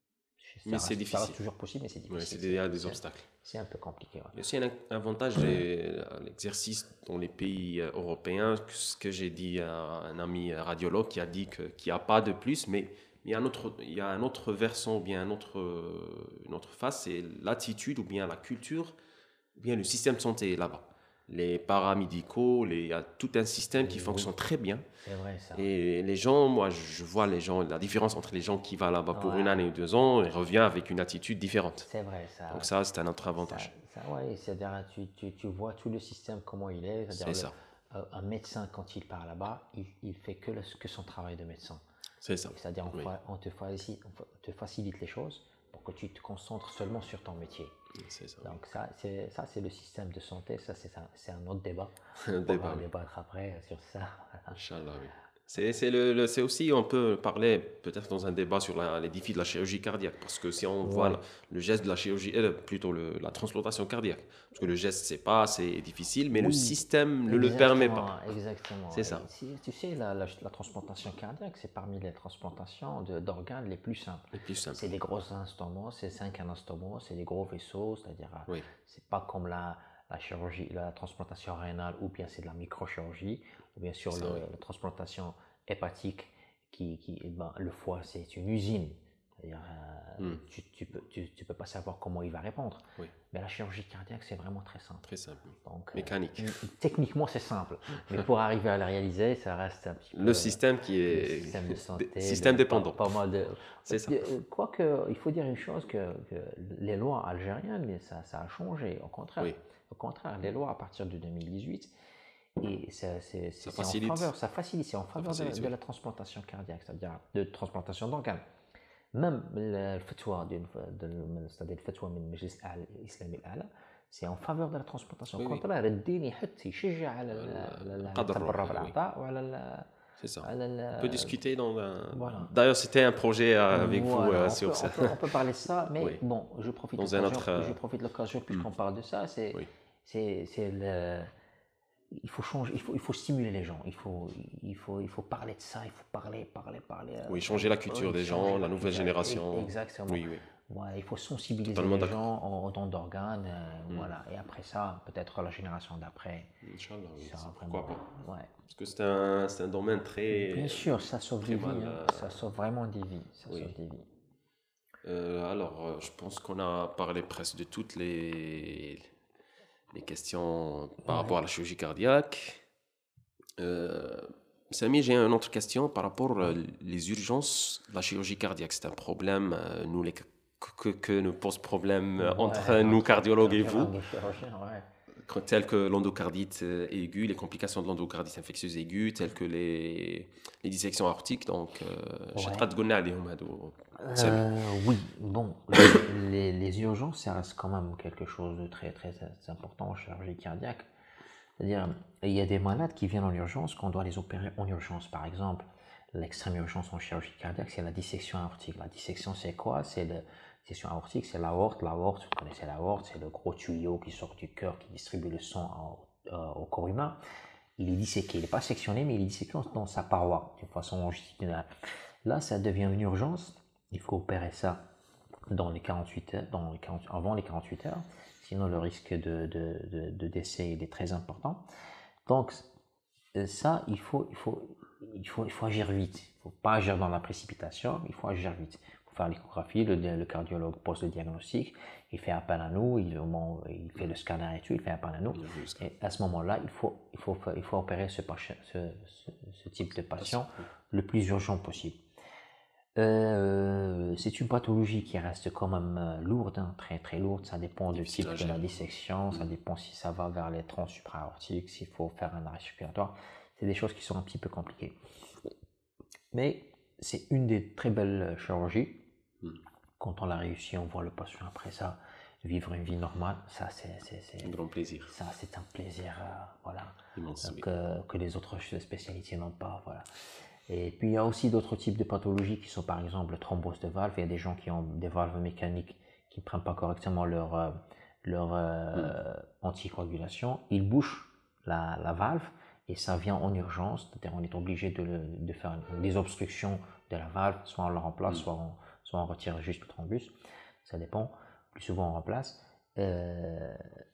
Ça Mais reste- c'est Ça difficile. reste toujours possible, mais c'est Ouais, difficile. c'est des, il y a des C'est- obstacles. C'est un peu compliqué. Ouais. Il y a aussi un avantage de l'exercice dans les pays euh, européens, que ce que j'ai dit à un ami radiologue qui a dit que- qu'il n'y a pas de plus, mais il y a un autre, il y a un autre versant, ou bien un autre, euh, une autre face, c'est l'attitude, ou bien la culture, ou bien le système de santé là-bas. Les paramédicaux, les- il y a tout un système qui Oui. fonctionne très bien. C'est vrai ça. Et les gens, moi, je vois les gens, la différence entre les gens qui vont là-bas pour Ouais. une année ou deux ans et revient avec une attitude différente. C'est vrai ça. Donc ça, c'est un autre avantage. Ça, ça, ouais, c'est-à-dire tu, tu, tu vois tout le système comment il est. C'est-à-dire C'est le- ça. euh, un médecin quand il part là-bas, il, il fait que, le- que son travail de médecin. C'est ça. C'est-à-dire on, Oui. fa- on, te facilite, on fa- te facilite les choses pour que tu te concentres seulement sur ton métier. C'est ça. Donc ça, c'est ça, c'est le système de santé. Ça, c'est un, c'est un autre débat. Un On débat, va oui. débattre après sur ça. Inch'Allah, oui. C'est c'est le, le- c'est aussi, on peut parler peut-être dans un débat sur la- les défis de la chirurgie cardiaque, parce que si on voit Ouais. le, le geste de la chirurgie, euh, plutôt le- la transplantation cardiaque, parce que le geste, c'est pas, c'est difficile, mais le Oui. système ne le permet pas. Exactement, Exactement. C'est ça. Et si- tu sais, la, la, la transplantation cardiaque, c'est parmi les transplantations de- d'organes les plus simples. Le plus simple. C'est des gros instruments, c'est cinq instruments, c'est des gros vaisseaux, c'est-à-dire, euh, Oui. c'est pas comme la, la chirurgie, la transplantation rénale, ou bien c'est de la microchirurgie, ou bien sur Ça, le- oui. la transplantation hépatique, qui, qui, eh ben, le foie, c'est une usine. C'est-à-dire, euh, Hmm. tu, tu peux, tu, tu peux pas savoir comment il va répondre. Oui. Mais la chirurgie cardiaque, c'est vraiment très simple. Très simple. Donc, Mécanique. euh, techniquement, c'est simple. Mais pour arriver à la réaliser, ça reste un petit peu. Le système qui le est. système de santé. Système le- dépendant. Pas, pas mal de. C'est ça. Euh, Quoique, il faut dire une chose que, que les lois algériennes, mais ça, ça a changé. Au contraire, Oui. au contraire, les lois à partir de deux mille dix-huit, et c'est c'est- c'est- Ça c'est en facilite. faveur, ça facilite, c'est en faveur de, facilite, de oui. la transplantation cardiaque, c'est-à-dire de transplantation d'organes. Même le le fatwa d'une- de- c'est-à-dire le fatwa من المجلس الإسلامي الأعلى, c'est en faveur de la transplantation. Oui, Au oui. contraire, الدين يحث يشجع على ال- ال- على القدر التبرع الروحي، oui. بالأعضاء وعلى ال- C'est ça. على ال- On peut discuter dans un. Voilà. D'ailleurs, c'était un projet euh, avec vous Voilà, euh, on, sur peut, ça. on, peut, on peut parler de ça, mais Oui. bon, je profite de Dans un l'occasion, autre, euh, je profite de l'occasion puisqu'on parle de ça, c'est, Oui. c'est, c'est le, il faut changer, il faut, il faut stimuler les gens, il faut, il faut, il faut parler de ça, il faut parler, parler, parler. euh, Oui, changer la culture oui, des changer gens, la nouvelle culture. génération. Exactement. Oui, oui. Voilà, il faut sensibiliser Totalement les d'accord. gens en, en don d'organes, euh, voilà. Et après ça, peut-être la génération d'après, Inch'Allah, oui. ça c'est- va Pourquoi vraiment- pas. ouais. Parce que c'est un, c'est un domaine très. Bien sûr, ça sauve très des vies, mal, hein. euh, Ça sauve vraiment des vies, ça oui. sauve des vies. Euh, alors, euh, je pense qu'on a parlé presque de toutes les, les questions par Ouais. rapport à la chirurgie cardiaque. Euh, Samy, j'ai une autre question par rapport aux les urgences de la chirurgie cardiaque. C'est un problème, euh, nous, les, que, que, que nous pose problème euh, entre Ouais, nous, entre cardiologues et vous, cardiologues et chirurgiens, ouais. que- telles que l'endocardite euh, aiguë, les complications de l'endocardite infectieuse aiguë, telles que les, les dissections aortiques. Donc, euh, je sais Ouais. pas de gonner عليهم هادو. Euh, oui, bon, les, les- les urgences, ça reste quand même quelque chose de très très important en chirurgie cardiaque. C'est-à-dire, il y a des malades qui viennent en urgence, qu'on doit les opérer en urgence. Par exemple, l'extrême urgence en chirurgie cardiaque, c'est la dissection aortique. La dissection, c'est quoi? C'est la dissection aortique, c'est l'aorte. L'aorte, vous connaissez l'aorte, c'est le gros tuyau qui sort du cœur, qui distribue le sang au, euh, au corps humain. Il est disséqué, il n'est pas sectionné, mais il est disséqué dans sa paroi, d'une façon longitudinale. Là, ça devient une urgence. Il faut opérer ça dans les quarante-huit heures, dans les quarante, avant les quarante-huit heures, sinon le risque de, de, de, de décès il est très important. Donc ça, il faut, il faut, il faut, il faut agir vite. Il ne faut pas agir dans la précipitation, il faut agir vite. Il faut faire l'échographie, le, le cardiologue pose le diagnostic, il fait appel à nous, il, il fait le scanner et tout, il fait appel à nous. Et à ce moment-là, il faut, il faut, il faut opérer ce, ce, ce, ce type de patient le plus urgent possible. Euh, c'est une pathologie qui reste quand même euh, lourde, hein, très très lourde. Ça dépend du type de la dissection, ça dépend si ça va vers les troncs supra-aortiques, s'il faut faire un arrêt circulatoire. C'est des choses qui sont un petit peu compliquées. Mais c'est une des très belles chirurgies. Quand on l'a réussi, on voit le patient après ça vivre une vie normale. Ça, c'est un grand plaisir. Ça, c'est un plaisir, euh, voilà, immense, que, oui. que les autres spécialités n'ont pas, voilà. Et puis il y a aussi d'autres types de pathologies qui sont par exemple le thrombose de valve. Il y a des gens qui ont des valves mécaniques qui ne prennent pas correctement leur, euh, leur euh, mm. anticoagulation. Ils bouchent la, la valve et ça vient en urgence. C'est-à-dire on est obligé de, de faire une désobstruction de la valve, soit on la remplace, mm. soit, on, soit on retire juste le thrombus. Ça dépend. Plus souvent on remplace. Euh,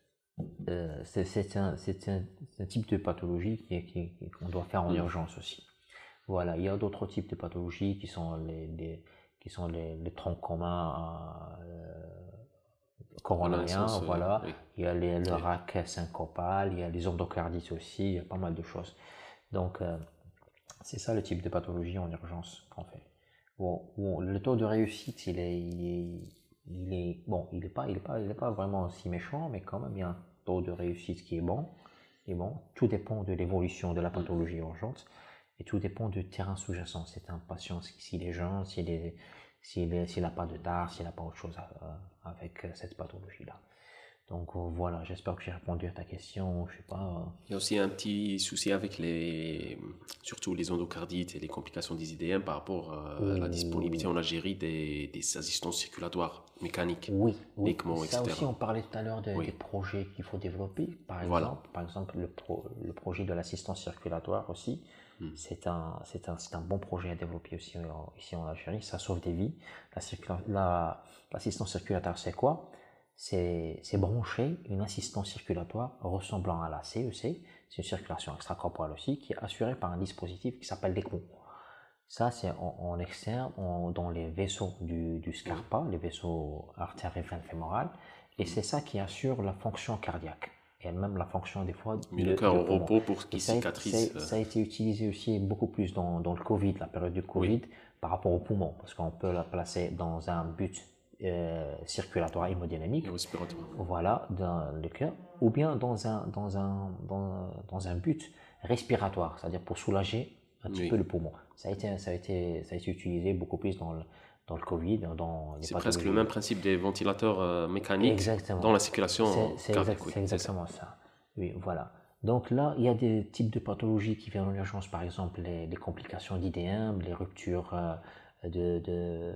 euh, c'est un, un, un type de pathologie qu'on qui, qui, doit faire en mm. urgence aussi. Voilà, il y a d'autres types de pathologies qui sont les, les qui sont les, les troncs communs euh, coronariens, voilà. voilà. Oui. Il y a les, le oui. rack syncopal, il y a les endocardites aussi, il y a pas mal de choses. Donc, euh, c'est ça le type de pathologie en urgence qu'on fait. Bon, bon, le taux de réussite, il est, il est, il est bon, il n'est pas, il est pas, il est pas vraiment si méchant, mais quand même, il y a un taux de réussite qui est bon. Et bon, tout dépend de l'évolution de la pathologie mmh. urgente. Et tout dépend du terrain sous-jacent. C'est un patient, s'il est jeune, s'il est, s'il est, s'il n'a pas de tard, s'il n'a pas autre chose à, à, avec cette pathologie-là. Donc euh, voilà, j'espère que j'ai répondu à ta question. Je sais pas. Euh... Il y a aussi un petit souci avec les, surtout les endocardites et les complications des I D M par rapport euh, à la disponibilité en Algérie des, des assistances circulatoires mécaniques. Oui, oui. ECMO, ça et cetera. Aussi, on parlait tout à l'heure de, oui. des projets qu'il faut développer. Par exemple, voilà. par exemple le, pro, le projet de l'assistance circulatoire aussi. Hmm. C'est un, c'est un, c'est un bon projet à développer aussi en, ici en Algérie. Ça sauve des vies. La, la, l'assistance circulatoire, c'est quoi? C'est, c'est brancher une assistance circulatoire ressemblant à la C E C. C'est une circulation extracorporelle aussi qui est assurée par un dispositif qui s'appelle l'ECMO. Ça, c'est en, en externe, en- dans les vaisseaux du, du Scarpa, les vaisseaux artères et veines fémorales, et c'est ça qui assure la fonction cardiaque, et même la fonction des fois Mais de, le cœur de au poumon. repos pour Et qu'il ça, a- cicatrise. ça, euh, ça a été utilisé aussi beaucoup plus dans, dans le Covid, la période du Covid, Oui, par rapport au poumon, parce qu'on peut la placer dans un but euh, circulatoire hémodynamique, et respiratoire. voilà, dans le cœur, ou bien dans un, dans un, dans, dans un but respiratoire, c'est-à-dire pour soulager un petit peu Oui. le poumon. Ça a été, ça a été, ça a été utilisé beaucoup plus dans le, dans le Covid, dans les C'est presque le même pathologies. principe des ventilateurs euh, mécaniques dans Exactement. la circulation C'est c'est exact, cardiaque. Oui, c'est c'est ça. exactement ça. Oui, voilà. Donc là, il y a des types de pathologies qui viennent en urgence, par exemple les, les complications d'idéum, les ruptures euh, de, de,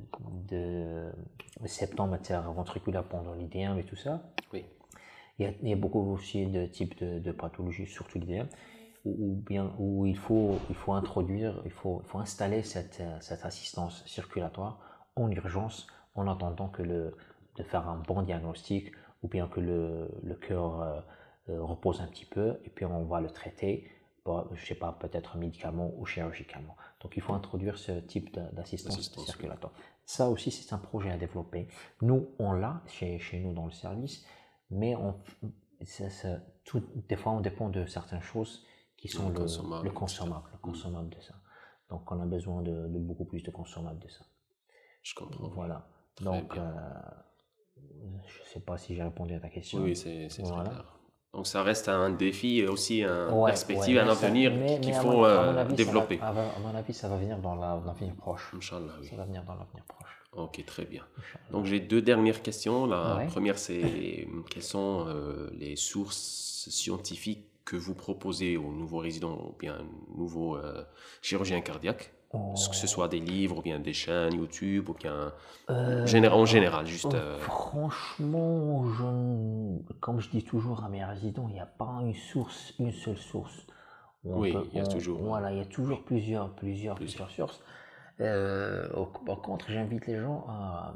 de, de septum interventriculaire pendant l'idéum et tout ça. Oui. Il y a, il y a beaucoup aussi de types de, de pathologies, surtout l'idéum, où, où bien, où il faut, il faut introduire, il faut, il faut installer cette, euh, cette assistance circulatoire en urgence en attendant que le, de faire un bon diagnostic ou bien que le, le cœur euh, euh, repose un petit peu et puis on va le traiter, par, je sais pas, peut-être médicalement ou chirurgicalement. Donc il faut introduire ce type de- d'assistance L'assistance, oui. circulatoire. Ça aussi, c'est un projet à développer. Nous, on l'a chez, chez nous dans le service, mais on, ça, ça, tout, des fois, on dépend de certaines choses qui sont Le le, consommable, le et cetera. consommable, le Mm. consommable de ça. Donc, on a besoin de, de beaucoup plus de consommables de ça. Je comprends. Oui. Voilà. Très Donc, bien. euh, je ne sais pas si j'ai répondu à ta Oui, question. oui, c'est c'est très Voilà. clair. Donc ça reste un défi et aussi une Ouais, perspective, ouais, un mais, ça, avenir mais, qu'il mais à, faut mon, à mon euh, avis, ça va, développer. à, à mon avis, ça va venir dans la- l'avenir proche. Inch'Allah, oui. Ça va venir dans l'avenir proche. Ok, très bien. Inch'Allah. Donc j'ai deux dernières questions. La Ouais. première, c'est quelles sont euh, les sources scientifiques que vous proposez aux nouveaux résidents ou bien nouveaux euh, chirurgiens cardiaques? Que ce soit des livres ou bien des chaînes YouTube ou bien Euh, géné- en général, juste... euh, euh, franchement, je, ne- comme je dis toujours à mes résidents, il n'y a pas une source, une seule source. Où on oui, peut, il y a on- toujours... euh, voilà, il y a toujours plusieurs, plusieurs, plusieurs. plusieurs sources. Euh, au- par contre, j'invite les gens à,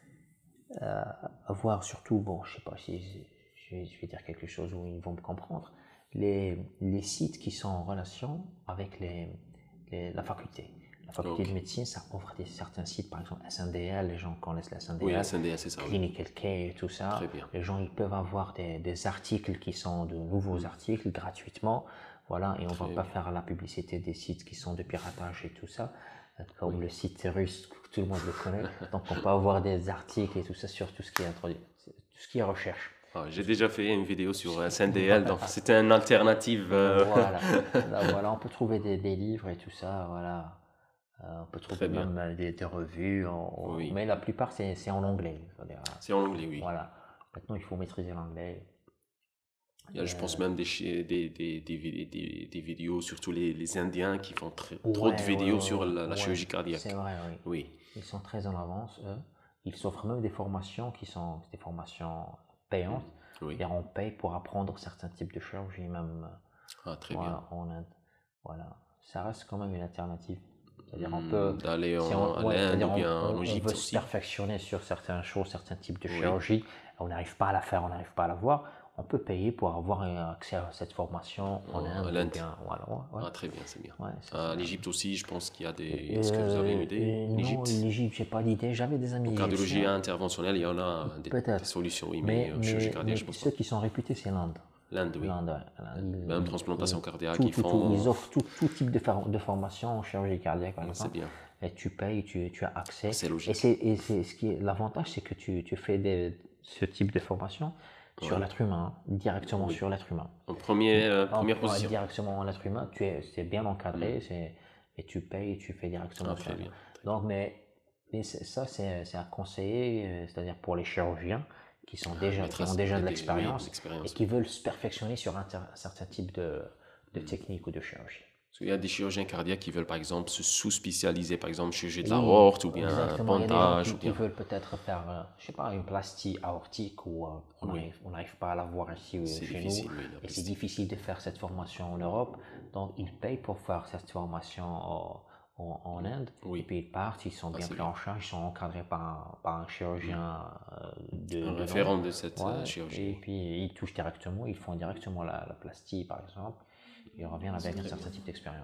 à, à voir surtout, bon, je sais pas si je vais, je vais dire quelque chose où ils vont me comprendre, les, les sites qui sont en relation avec les, les- la faculté. La faculté Ok. de médecine, ça offre des, certains sites, par exemple S N D L, les gens connaissent la S N D L, Oui, S N D S, c'est ça, oui. Clinical Care et tout ça. Très bien. Les gens, ils peuvent avoir des, des articles qui sont de nouveaux articles gratuitement. Voilà, et on ne va Très pas bien. faire la publicité des sites qui sont de piratage et tout ça, euh, comme Oui. le site russe, tout le monde le connaît. Donc, on peut avoir des articles et tout ça sur tout ce qui est introduit, tout ce qui est recherche. Ah, j'ai déjà fait une vidéo sur S N D L, donc c'était une alternative. euh, Voilà. Là, voilà, on peut trouver des, des livres et tout ça, voilà. Euh, on peut trouver Très bien. même euh, des, des revues, en- en- Oui. mais la plupart c'est c'est en anglais. C'est-à-dire, euh, C'est en anglais, oui. Voilà. Maintenant, il faut maîtriser l'anglais. Il y a, je pense même des, chi- des, des, des, vid- des, des vidéos, surtout les, les Indiens qui font très- trop Ouais, de ouais, vidéos ouais, sur la, la ouais, chirurgie cardiaque. c'est vrai, oui. Oui, Ils sont très en avance, eux. Ils s'offrent même des formations qui sont des formations payantes. oui. Et on paye pour apprendre certains types de chirurgie, même Ah, très voilà, en Inde. Voilà. Ça reste quand même une alternative. C'est-à-dire, on bien. peut. Hmm, D'aller Si en, on, à ouais, l'Inde c'est-à-dire ou on, bien on- en on Égypte veut se aussi. perfectionner sur certaines choses, certains types de Oui. chirurgie, on n'arrive pas à la faire, on n'arrive pas à la voir, on peut payer pour avoir un accès à cette formation en En- à Inde. ou l'Inde. bien, voilà, ouais, ouais. Ah, très bien, c'est bien. Ouais, ça, À c'est- l'Égypte aussi, je pense qu'il y a des. Est-ce que vous avez une Euh, idée? euh, non, L'Égypte? l'Égypte, j'ai pas d'idée. J'avais des amis En cardiologie égyptiens, interventionnelle, il y en a des, des peut-être. solutions, oui, Mais, mais euh, chirurgie mais, cardiaque, mais je pense ceux pas. qui sont réputés, c'est l'Inde. L'Inde, oui. L'Inde, ouais. L'Inde, Même ils- transplantation ils- cardiaque, tout, ils tout, tout. font. Ils offrent tout, tout type de, for- de formation en chirurgie cardiaque, par Ah, c'est exemple. bien. Et tu payes, tu, tu as accès. C'est Et logique. c'est, et c'est ce qui est l'avantage, c'est que tu, tu fais des, ce type de formation sur Ouais. l'être humain, hein, directement Oui. sur l'être humain. En premier, euh, En- première en- position. Directement en l'être humain, tu es, c'est bien encadré, c'est, et tu payes, tu fais directement Ah, sur très l'être bien. humain. Donc, mais, mais c'est- ça, c'est, c'est à conseiller, euh, c'est-à-dire pour les chirurgiens qui sont déjà, qui Maîtresse ont déjà de des- oui, l'expérience et l'expérience. qui veulent se perfectionner sur un, ter- un certain type de, de Mm. technique ou de chirurgie. Parce qu'il y a des chirurgiens cardiaques qui veulent par exemple se sous-spécialiser, par exemple chirurgie de Oui, l'aorte ou bien un exactement. Il y a des gens bandage qui, ou qui bien. veulent peut-être faire, euh, je sais pas, une plastie aortique ou euh, on Oui. n'arrive on n'arrive pas à la voir ici euh, C'est chez difficile, nous. oui, la Et c'est plastie. difficile de faire cette formation en Europe. Donc, ils payent pour faire cette formation en, en- en Inde. Oui. Et puis, ils partent, ils sont Ah, bien c'est pris en charge, ils sont encadrés par un, par un chirurgien euh, de, Un de référent nom. de cette Ouais, euh, et chirurgie. puis, ils touchent directement, ils font directement la, la plastie, par exemple. Ils reviennent avec un très certain bien. type d'expérience.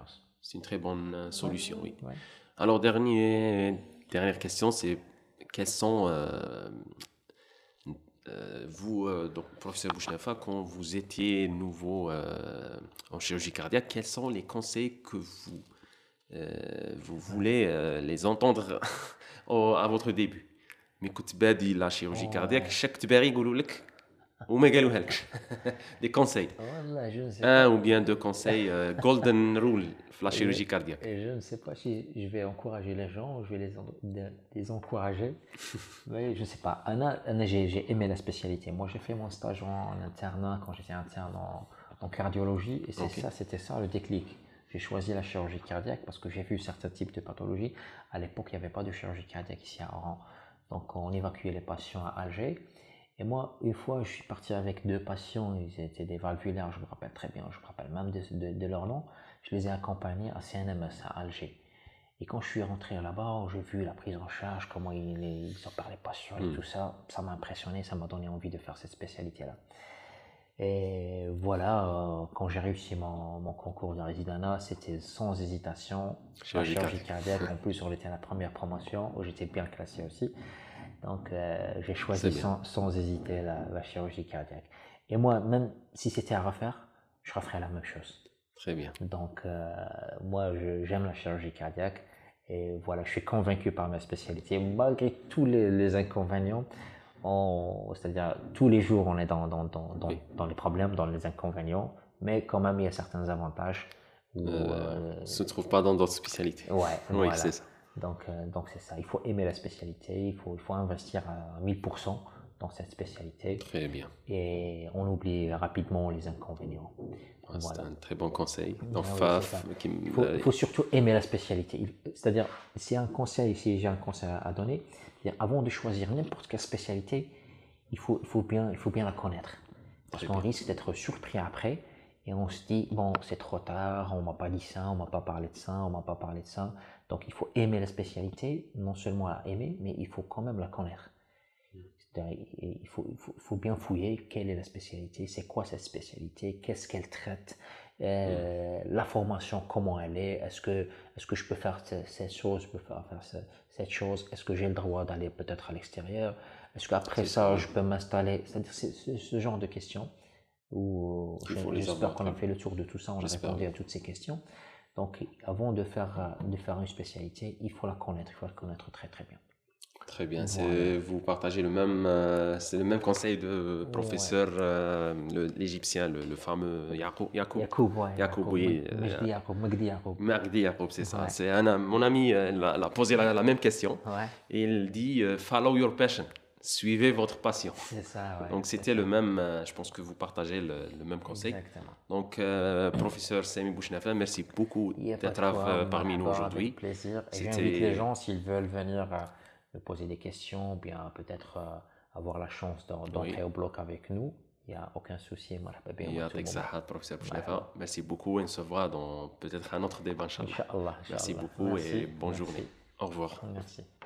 C'est une très bonne euh, solution, oui. Ouais. Alors, dernier, dernière question, c'est quels sont, euh, euh, vous, euh, donc, professeur Bouchnafa, quand vous étiez nouveau euh, en chirurgie cardiaque, quels sont les conseils que vous, euh, vous voulez euh, les entendre au- à votre début? Mais كنت بادي la chirurgie cardiaque, chaque تباري يقولوا لك وما قالوها لكش des conseils. Voilà, je ne sais Un pas. ou bien deux conseils euh, golden rule في la Et chirurgie je, cardiaque. et je ne sais pas si je vais encourager les gens, je vais les, en- de- les encourager. Mais je ne sais pas. Anna, Anna, j'ai j'ai aimé la spécialité. Moi, j'ai fait mon stage en, en internat quand j'étais interne en, en cardiologie. Et c'est Ok. ça, c'était ça le déclic. J'ai choisi la chirurgie cardiaque parce que j'ai vu certains types de pathologies. À l'époque, il n'y avait pas de chirurgie cardiaque ici à Oran. Donc, on évacuait les patients à Alger. Et moi, une fois, je suis parti avec deux patients, ils étaient des valvulaires, je me rappelle très bien, je me rappelle même de, de, de leur nom. Je les ai accompagnés à C N M S à Alger. Et quand je suis rentré là-bas, j'ai vu la prise en charge, comment ils, ils opèrent les patients et Mm. tout ça. Ça m'a impressionné, ça m'a donné envie de faire cette spécialité-là. Et voilà, euh, quand j'ai réussi mon, mon concours de résidana, c'était sans hésitation. Chirurgie la chirurgie cardiaque. cardiaque, en plus, on était à la première promotion où j'étais bien classé aussi. Donc, euh, j'ai C'est choisi bien. sans, sans hésiter la, la chirurgie cardiaque. Et moi, même si c'était à refaire, je referais la même chose. Très bien. Donc, euh, moi, je- j'aime la chirurgie cardiaque. Et voilà, je suis convaincu par ma spécialité. Malgré tous les, les inconvénients, on- c'est-à-dire tous les jours, on est dans, dans, dans, dans, Oui. dans les problèmes, dans les inconvénients. Mais quand même, il y a certains avantages. Où, Euh, euh, se trouve pas dans d'autres spécialités. ouais, Oui, voilà. c'est ça. Donc, euh, donc c'est ça. Il faut aimer la spécialité. Il faut, il faut investir à mille pour cent dans cette spécialité. Très bien. Et on oublie rapidement les inconvénients. Ah, c'est Voilà. un très bon conseil. Donc, Ah oui, Faf, c'est ça. qui me- Il faut, il faut surtout aimer la spécialité. Il- C'est-à-dire, si un conseil, si j'ai un conseil à donner, c'est-à-dire, avant de choisir n'importe quelle spécialité, il faut, il faut bien, il faut bien la connaître. Parce Très qu'on bien. risque d'être surpris après et on se dit, bon, c'est trop tard, on m'a pas dit ça, on m'a pas parlé de ça, on m'a pas parlé de ça. Donc, il faut aimer la spécialité, non seulement la aimer, mais il faut quand même la connaître. C'est-à-dire, il faut, il faut, il faut bien fouiller quelle est la spécialité, c'est quoi cette spécialité, qu'est-ce qu'elle traite, euh, la formation, comment elle est, est-ce que, est-ce que je peux faire ce- cette chose, je peux faire, faire ce- cette chose, est-ce que j'ai le droit d'aller peut-être à l'extérieur, est-ce qu'après C'est ça, ça. je peux m'installer, c'est-à-dire c'est c'est ce genre de questions où Il je- faut les j'espère avoir, qu'on a très fait le tour de tout ça, on a J'espère, répondu oui. à toutes ces questions. Donc, avant de faire, euh, de faire une spécialité, il faut la connaître, il faut la connaître très très bien. Très bien. Voilà. C'est, vous partagez le même, euh, c'est le même conseil de professeur euh, le- l'Égyptien, le, le fameux Yacoub. Yacoub. Yacoub, ouais. Yacoub, oui. euh, Majdi Yacoub, Magdi Yacoub. Magdi Yacoub, c'est ça. Ouais. C'est un, am- mon ami, euh, il a, il a posé la, la même question. Ouais, Et il dit euh, follow your passion. Suivez votre passion. c'est ça, ouais. Donc c'est c'était ça. le même, euh, je pense que vous partagez le, le même conseil. Exactement. Donc euh, professeur Sami Bouchnafa, merci beaucoup Il y a pas de d'être quoi, euh, parmi nous marhaba, aujourd'hui. avec plaisir. Et C'était- j'invite les gens, s'ils veulent venir euh, me poser des questions, ou bien peut-être euh, avoir la chance d'en- d'entrer Oui. au bloc avec nous, il n'y a aucun souci. Marhaba bik, Et à tout avec moment. Sahat, professeur Bouchnafa, merci beaucoup et on se voit dans peut-être un autre débat, Inch'Allah. Inch'Allah, Merci Inch'Allah. beaucoup Merci, et bonne merci. journée. Au revoir. Merci.